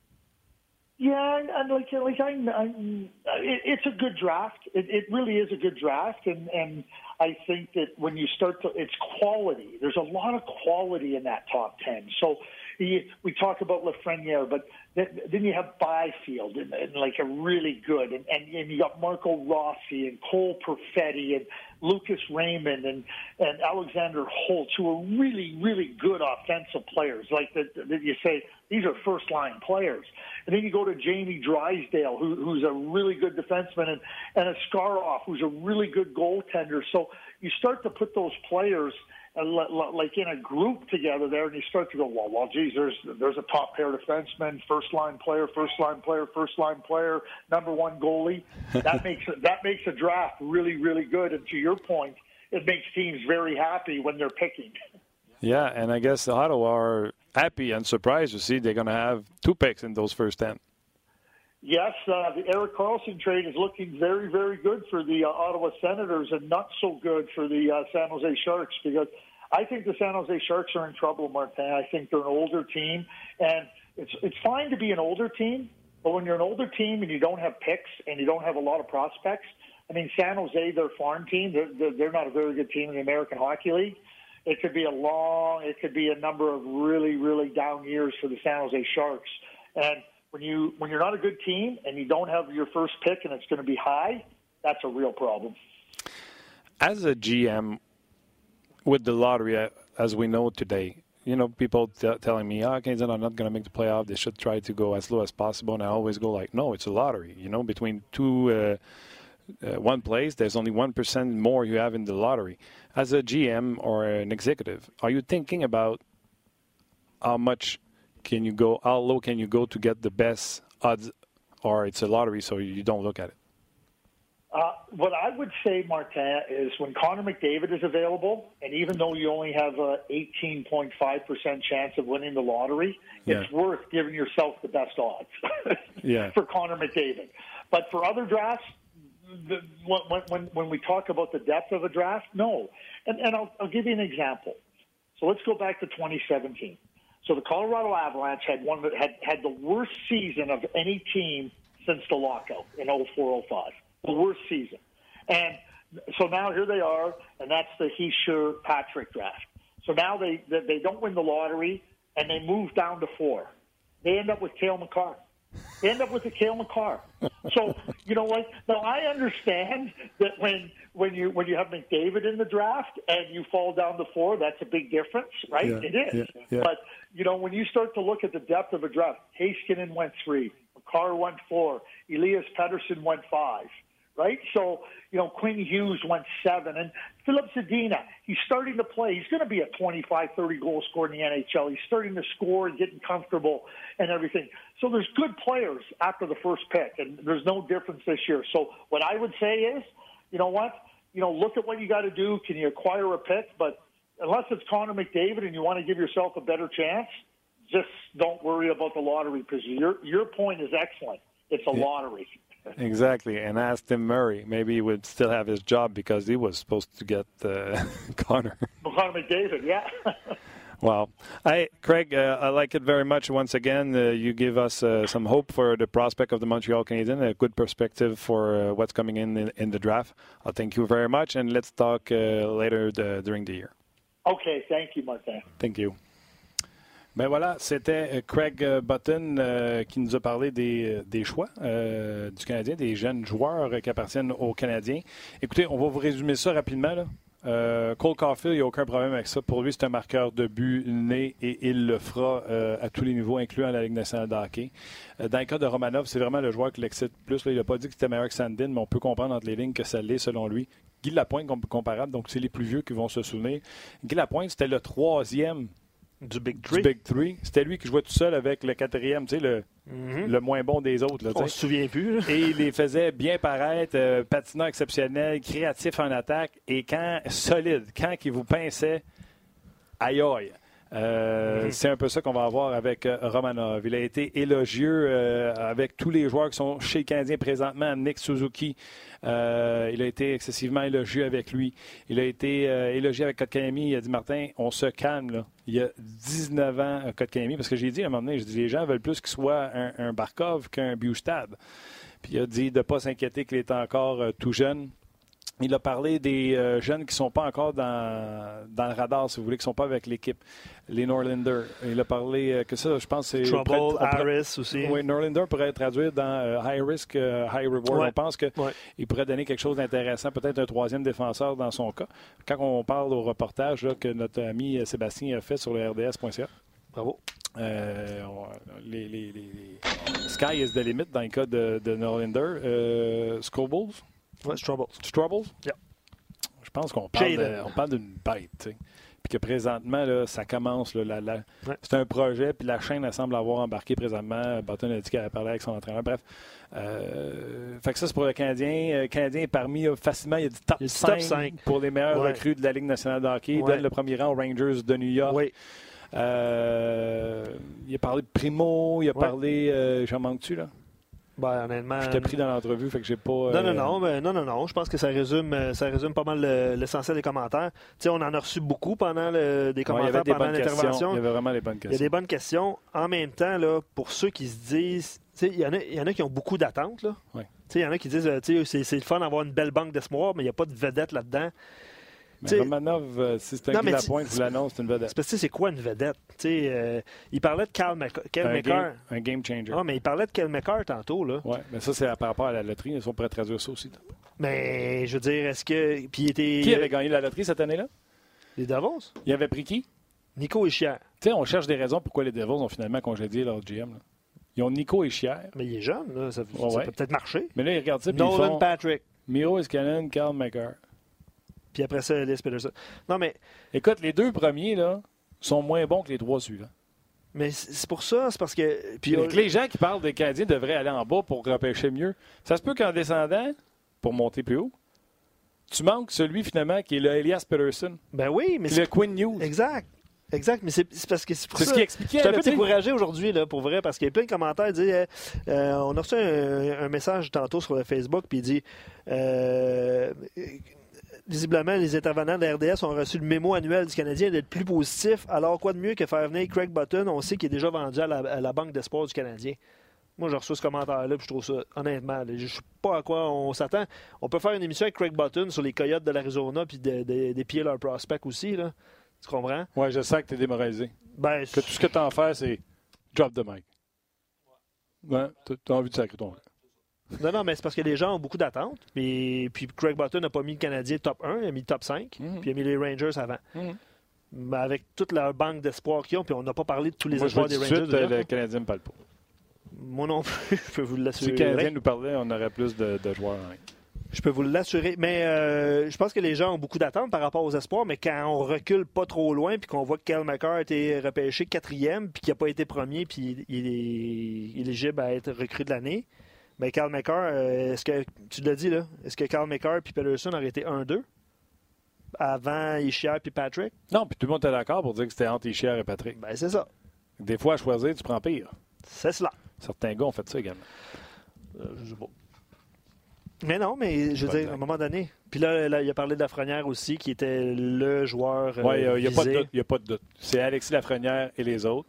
Yeah, and like like I, I it, it's a good draft. It, it really is a good draft, and and I think that when you start to, it's quality. There's a lot of quality in that top ten. So you, we talk about Lafrenière, but then you have Byfield and, and like a really good, and, and, and you got Marco Rossi and Cole Perfetti and Lucas Raymond and, and Alexander Holtz, who are really, really good offensive players. Like that, that you say, these are first-line players. And then you go to Jamie Drysdale, who, who's a really good defenseman, and, and a Skarloff, who's a really good goaltender. So you start to put those players like in a group together there, and you start to go, well, well, geez, there's there's a top pair defenseman, first line player, first line player, first line player, number one goalie. That makes that makes a draft really, really good. And to your point, it makes teams very happy when they're picking. Yeah, and I guess the Ottawa are happy and surprised to see they're going to have two picks in those first ten. Yes, uh, the Erik Karlsson trade is looking very, very good for the uh, Ottawa Senators and not so good for the uh, San Jose Sharks, because I think the San Jose Sharks are in trouble, Martin. I think they're an older team, and it's it's fine to be an older team, but when you're an older team and you don't have picks and you don't have a lot of prospects, I mean, San Jose, their farm team, they're, they're, they're not a very good team in the American Hockey League. It could be a long, it could be a number of really, really down years for the San Jose Sharks. And when you when you're not a good team and you don't have your first pick and it's going to be high, that's a real problem. As a G M, with the lottery, as we know today, you know, people t- telling me, oh, Canadiens are not going to make the playoff. They should try to go as low as possible. And I always go like, no, it's a lottery. You know, between two, uh, uh, one place, there's only one percent more you have in the lottery. As a G M or an executive, are you thinking about how much can you go, how low can you go to get the best odds, or it's a lottery, so you don't look at it? Uh, what I would say, Martin, is when Connor McDavid is available, and even though you only have a eighteen point five percent chance of winning the lottery, yeah. it's worth giving yourself the best odds yeah. for Connor McDavid. But for other drafts, the, when, when, when we talk about the depth of a draft, no. And, and I'll, I'll give you an example. So let's go back to twenty seventeen. So the Colorado Avalanche had one that had, had the worst season of any team since the lockout in oh four oh five. The worst season. And so now here they are, and that's the Hischier Patrick draft. So now they, they don't win the lottery, and they move down to four. They end up with Cale Makar. They end up with the Cale Makar. So, you know what? Now, I understand that when when you when you have McDavid in the draft and you fall down to four, that's a big difference, right? Yeah, it is. Yeah, yeah. But, you know, when you start to look at the depth of a draft, Heiskanen went three, Makar went four, Elias Pettersson went five. Right? So, you know, Quinn Hughes went seven. And Philip Zadina, he's starting to play. He's going to be a twenty-five, thirty goal scorer in the N H L. He's starting to score and getting comfortable and everything. So there's good players after the first pick, and there's no difference this year. So what I would say is, you know what? You know, look at what you got to do. Can you acquire a pick? But unless it's Connor McDavid and you want to give yourself a better chance, just don't worry about the lottery, because your, your point is excellent. It's a yeah. lottery. Exactly, and ask Tim Murray. Maybe he would still have his job because he was supposed to get uh, Connor. Connor McDavid, yeah. Wow. Hey, Craig, uh, I like it very much. Once again, uh, you give us uh, some hope for the prospect of the Montreal Canadiens, a good perspective for uh, what's coming in, in in the draft. I thank you very much, and let's talk uh, later the, during the year. Okay, thank you, Martin. Thank you. Ben voilà, c'était Craig Button euh, qui nous a parlé des, des choix euh, du Canadien, des jeunes joueurs qui appartiennent aux Canadiens. Écoutez, on va vous résumer ça rapidement, là. Euh, Cole Caulfield, il n'y a aucun problème avec ça. Pour lui, c'est un marqueur de but né et il le fera euh, à tous les niveaux, incluant la Ligue nationale de hockey. Euh, dans le cas de Romanov, c'est vraiment le joueur qui l'excite plus. Là, il n'a pas dit que c'était meilleur que Sandin, mais on peut comprendre entre les lignes que ça l'est selon lui. Guy Lapointe, comparable, donc c'est les plus vieux qui vont se souvenir. Guy Lapointe, c'était le troisième Du Big Three. Du Big Three. C'était lui qui jouait tout seul avec le quatrième, tu sais, le, mm-hmm. le moins bon des autres. Là, on se souvient plus. Là. Et il les faisait bien paraître, euh, patinant exceptionnel, créatif en attaque, et quand solide, quand il vous pinçait, aïe aïe. Euh, mm-hmm. C'est un peu ça qu'on va avoir avec euh, Romanov. Il a été élogieux euh, avec tous les joueurs qui sont chez les Canadiens présentement. Nick Suzuki, euh, il a été excessivement élogieux avec lui. Il a été euh, élogieux avec Kotkaniemi. Il a dit, Martin, on se calme, là. Il y a dix-neuf ans, Kotkaniemi, parce que j'ai dit à un moment donné, j'ai dit, les gens veulent plus qu'il soit un, un Barkov qu'un Bjugstad. Puis il a dit de ne pas s'inquiéter qu'il est encore euh, tout jeune. Il a parlé des euh, jeunes qui ne sont pas encore dans, dans le radar, si vous voulez, qui ne sont pas avec l'équipe. Les Norlinder. Il a parlé euh, que ça, je pense, c'est... Trouble, pourrait, Harris aussi. Oui, Norlinder pourrait être traduit dans euh, High Risk, euh, High Reward. Ouais. On pense qu'il ouais. pourrait donner quelque chose d'intéressant, peut-être un troisième défenseur dans son cas. Quand on parle au reportage là, que notre ami Sébastien a fait sur le R D S point C A. Bravo. Euh, on, les, les, les, les Sky is the limit dans le cas de, de Norlinder. Euh, Scobles. Ouais, Troubles. Troubles? Yeah. Je pense qu'on parle, de, on parle d'une bête, tu sais. Puis que présentement, là, ça commence. Là, la, la, ouais. C'est un projet, puis la chaîne, elle semble avoir embarqué présentement. Button a dit qu'elle a parlé avec son entraîneur. Bref. Euh, fait que ça, c'est pour le Canadien. Le Canadien est parmi, facilement, il y a du top, il y a du cinq, top cinq pour les meilleurs ouais. recrues de la Ligue nationale de hockey. Il ouais. donne le premier rang aux Rangers de New York. Oui. Euh, il a parlé de Primo, il a ouais. parlé... Euh, j'en manque-tu, là? Ben, honnêtement... Je t'ai pris dans l'entrevue, fait que j'ai pas... Euh... Non, non, non, ben, non, non, non. Je pense que ça résume, ça résume pas mal le, l'essentiel des commentaires. Tu sais, on en a reçu beaucoup pendant le, des commentaires, ouais, pendant l'intervention. Il y avait vraiment des bonnes questions. Il y a des bonnes questions. En même temps, là, pour ceux qui se disent... Tu sais, il y en a, il y en a qui ont beaucoup d'attentes, là. Ouais. Tu sais, il y en a qui disent, tu sais, c'est, c'est le fun d'avoir une belle banque d'espoir, mais il n'y a pas de vedette là-dedans. Mais Romanov, euh, si c'est un gars de la pointe, vous l'annonce, c'est une vedette. C'est parce que c'est quoi une vedette? Euh, il parlait de Cal McCarr. Un game changer. Ah, mais il parlait de Cal McCarr tantôt. Oui, mais ça, c'est par rapport à la loterie. Ils sont prêts à traduire ça aussi. Mais je veux dire, est-ce que. Puis il était... Qui avait gagné la loterie cette année-là? Les Devils. Il avait pris qui? Nico Hischier. Tu sais, on cherche des raisons pourquoi les Devils ont finalement congédié leur G M. Là. Ils ont Nico Hischier. Mais il est jeune, là. Ça, ouais, ça ouais. peut peut-être marcher. Mais là, ils regardent ça. Nolan ils font Patrick. Miro Iskanen, Cal McCarr. Puis après ça, Ellis Peterson. Non, mais. Écoute, les deux premiers, là, sont moins bons que les trois suivants. Mais c'est pour ça, c'est parce que. Puis, euh... les gens qui parlent des Canadiens devraient aller en bas pour repêcher mieux. Ça se peut qu'en descendant, pour monter plus haut, tu manques celui, finalement, qui est le Elias Peterson. Ben oui, mais c'est. Le Quinn News. Exact. Exact, mais c'est parce que c'est pour c'est ça. ce qui expliquait. Je suis un peu découragé aujourd'hui, là, pour vrai, parce qu'il y a plein de commentaires qui disent euh, on a reçu un, un message tantôt sur le Facebook, puis il dit euh, visiblement, les intervenants de la R D S ont reçu le mémo annuel du Canadien d'être plus positif. Alors, quoi de mieux que faire venir Craig Button? On sait qu'il est déjà vendu à la, à la Banque d'espoir du Canadien. Moi, j'ai reçu ce commentaire-là, puis je trouve ça, honnêtement, là, je ne sais pas à quoi on s'attend. On peut faire une émission avec Craig Button sur les Coyotes de l'Arizona, puis de, de, d'épier leurs prospects aussi, là. Tu comprends? Oui, je sens que tu es démoralisé. Ben, que tout ce que tu as à faire, c'est drop the mic. Ouais, tu as envie de sacrer ton camp. Non, non, mais c'est parce que les gens ont beaucoup d'attentes. Puis, puis Craig Button n'a pas mis le Canadien top un, il a mis le top cinq, mm-hmm. puis il a mis les Rangers avant. Mm-hmm. Mais avec toute leur banque d'espoir qu'ils ont, puis on n'a pas parlé de tous les Moi, espoirs des Rangers. Suite, de le Canadien ne parle pas. Moi non plus, je peux vous l'assurer. Si le Canadien nous parlait, on aurait plus de, de joueurs. Hein. Je peux vous l'assurer. Mais euh, je pense que les gens ont beaucoup d'attentes par rapport aux espoirs, mais quand on recule pas trop loin, puis qu'on voit que Cal McCarr a été repêché quatrième, puis qu'il n'a pas été premier, puis il est éligible à être recrue de l'année, mais Cal McCarr, euh, est-ce que, tu l'as dit là, est-ce que Cal McCarr puis Peterson auraient été un deux avant Hischier puis Patrick? Non, puis tout le monde était d'accord pour dire que c'était entre Hischier et Patrick. Ben c'est ça. Des fois, à choisir, tu prends pire. C'est cela. Certains gars ont fait ça également. Euh, je sais pas. Mais non, mais je veux dire, à un moment donné. Puis là, là, il a parlé de Lafrenière aussi, qui était le joueur. Oui, il n'y a, a, a pas de doute. C'est Alexis Lafrenière et les autres.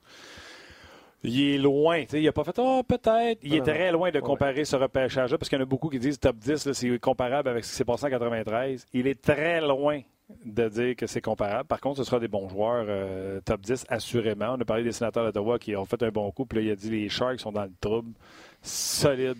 Il est loin. Il n'a pas fait « Ah, oh, peut-être ». Il non, est non, très loin de comparer ouais. ce repêchage-là, parce qu'il y en a beaucoup qui disent top dix, là, c'est comparable avec ce qui s'est passé en quatre-vingt-treize. Il est très loin de dire que c'est comparable. Par contre, ce sera des bons joueurs euh, top dix, assurément. On a parlé des Sénateurs d'Ottawa qui ont fait un bon coup. Puis là, il a dit les Sharks sont dans le trouble. Solide.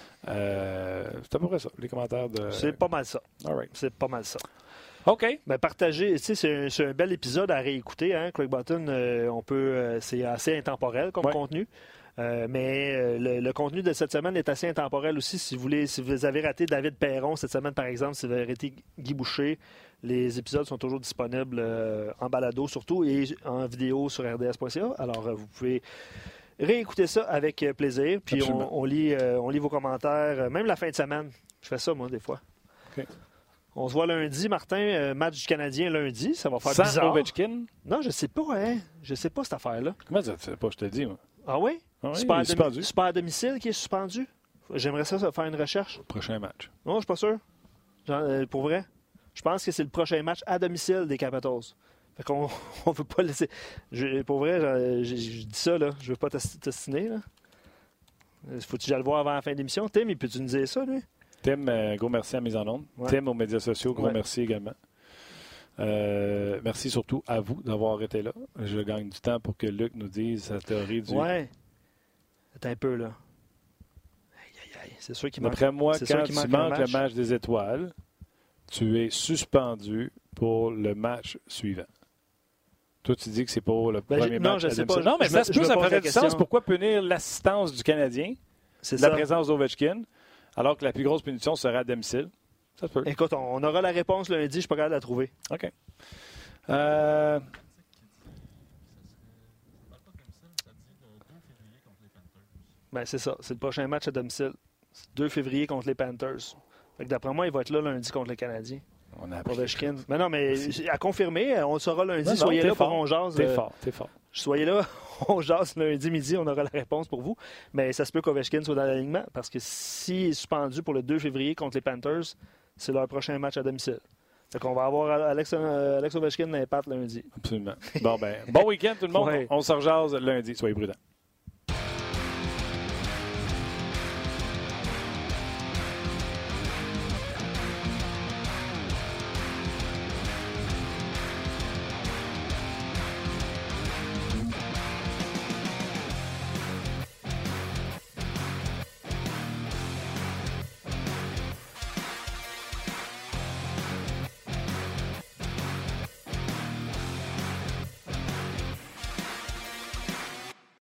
Euh, c'est à peu près ça, les commentaires de... C'est pas mal ça. All right. C'est pas mal ça. OK. Ben, partagez, tu sais, c'est un, c'est un bel épisode à réécouter, hein, Craig Button. Euh, on peut, euh, c'est assez intemporel comme ouais. contenu. Euh, mais euh, le, le contenu de cette semaine est assez intemporel aussi. Si vous voulez, si vous avez raté David Perron cette semaine, par exemple, si vous avez raté Guy Boucher, les épisodes sont toujours disponibles euh, en balado surtout et en vidéo sur r d s point c a. Alors, euh, vous pouvez réécouter ça avec plaisir. Puis on, on, lit, euh, on lit vos commentaires, même la fin de semaine. Je fais ça, moi, des fois. OK. On se voit lundi, Martin. Euh, match du Canadien lundi. Ça va faire Sans bizarre. Ovechkin? Non, je sais pas, hein. Je sais pas cette affaire-là. Comment ça, tu sais pas? Je te le dis, moi. Ah oui? Ah oui, super, il est suspendu. Super à domicile qui est suspendu? J'aimerais ça, ça faire une recherche. Prochain match. Non, je suis pas sûr. Genre, euh, pour vrai. Je pense que c'est le prochain match à domicile des Capitals. Fait qu'on on veut pas laisser... Je, pour vrai, je, je, je dis ça, là. Je veux pas t'ostiner, là. Faut-tu que j'aille le voir avant la fin de l'émission? Tim, il peut-tu nous dire ça, lui? Tim, euh, gros merci à Mise en Onde. Ouais. Tim aux médias sociaux, gros ouais. merci également. Euh, merci surtout à vous d'avoir été là. Je gagne du temps pour que Luc nous dise sa théorie du... Ouais. Attends un peu, là. Aïe, aïe, aïe. C'est sûr qu'il manque... D'après moi, c'est quand tu manques manque le match des étoiles, tu es suspendu pour le match suivant. Toi, tu dis que c'est pour le ben, premier non, match. Je sais pas. Non, mais je ça me, se peut, ça ferait du question. sens. Pourquoi punir l'assistance du Canadien, c'est la ça. présence d'Ovechkin, alors que la plus grosse punition serait à domicile? Ça se peut. Écoute, on aura la réponse lundi. Je ne suis pas capable de la trouver. OK. Euh... Ben, c'est ça. C'est le prochain match à domicile. deux février contre les Panthers. Fait que d'après moi, il va être là lundi contre les Canadiens. On a Ovechkin. Mais non, mais Merci. à confirmer, on le saura lundi. Non, soyez non, là fort. pour on jase. T'es euh, fort, t'es fort. Soyez là, on jase lundi midi, on aura la réponse pour vous. Mais ça se peut qu'Ovechkin soit dans l'alignement parce que s'il est suspendu pour le deux février contre les Panthers, c'est leur prochain match à domicile. Fait qu'on va avoir Alex, euh, Alex Ovechkin d'impact lundi. Absolument. Bon, ben, bon week-end tout le monde. Ouais. On se rejase lundi. Soyez prudents.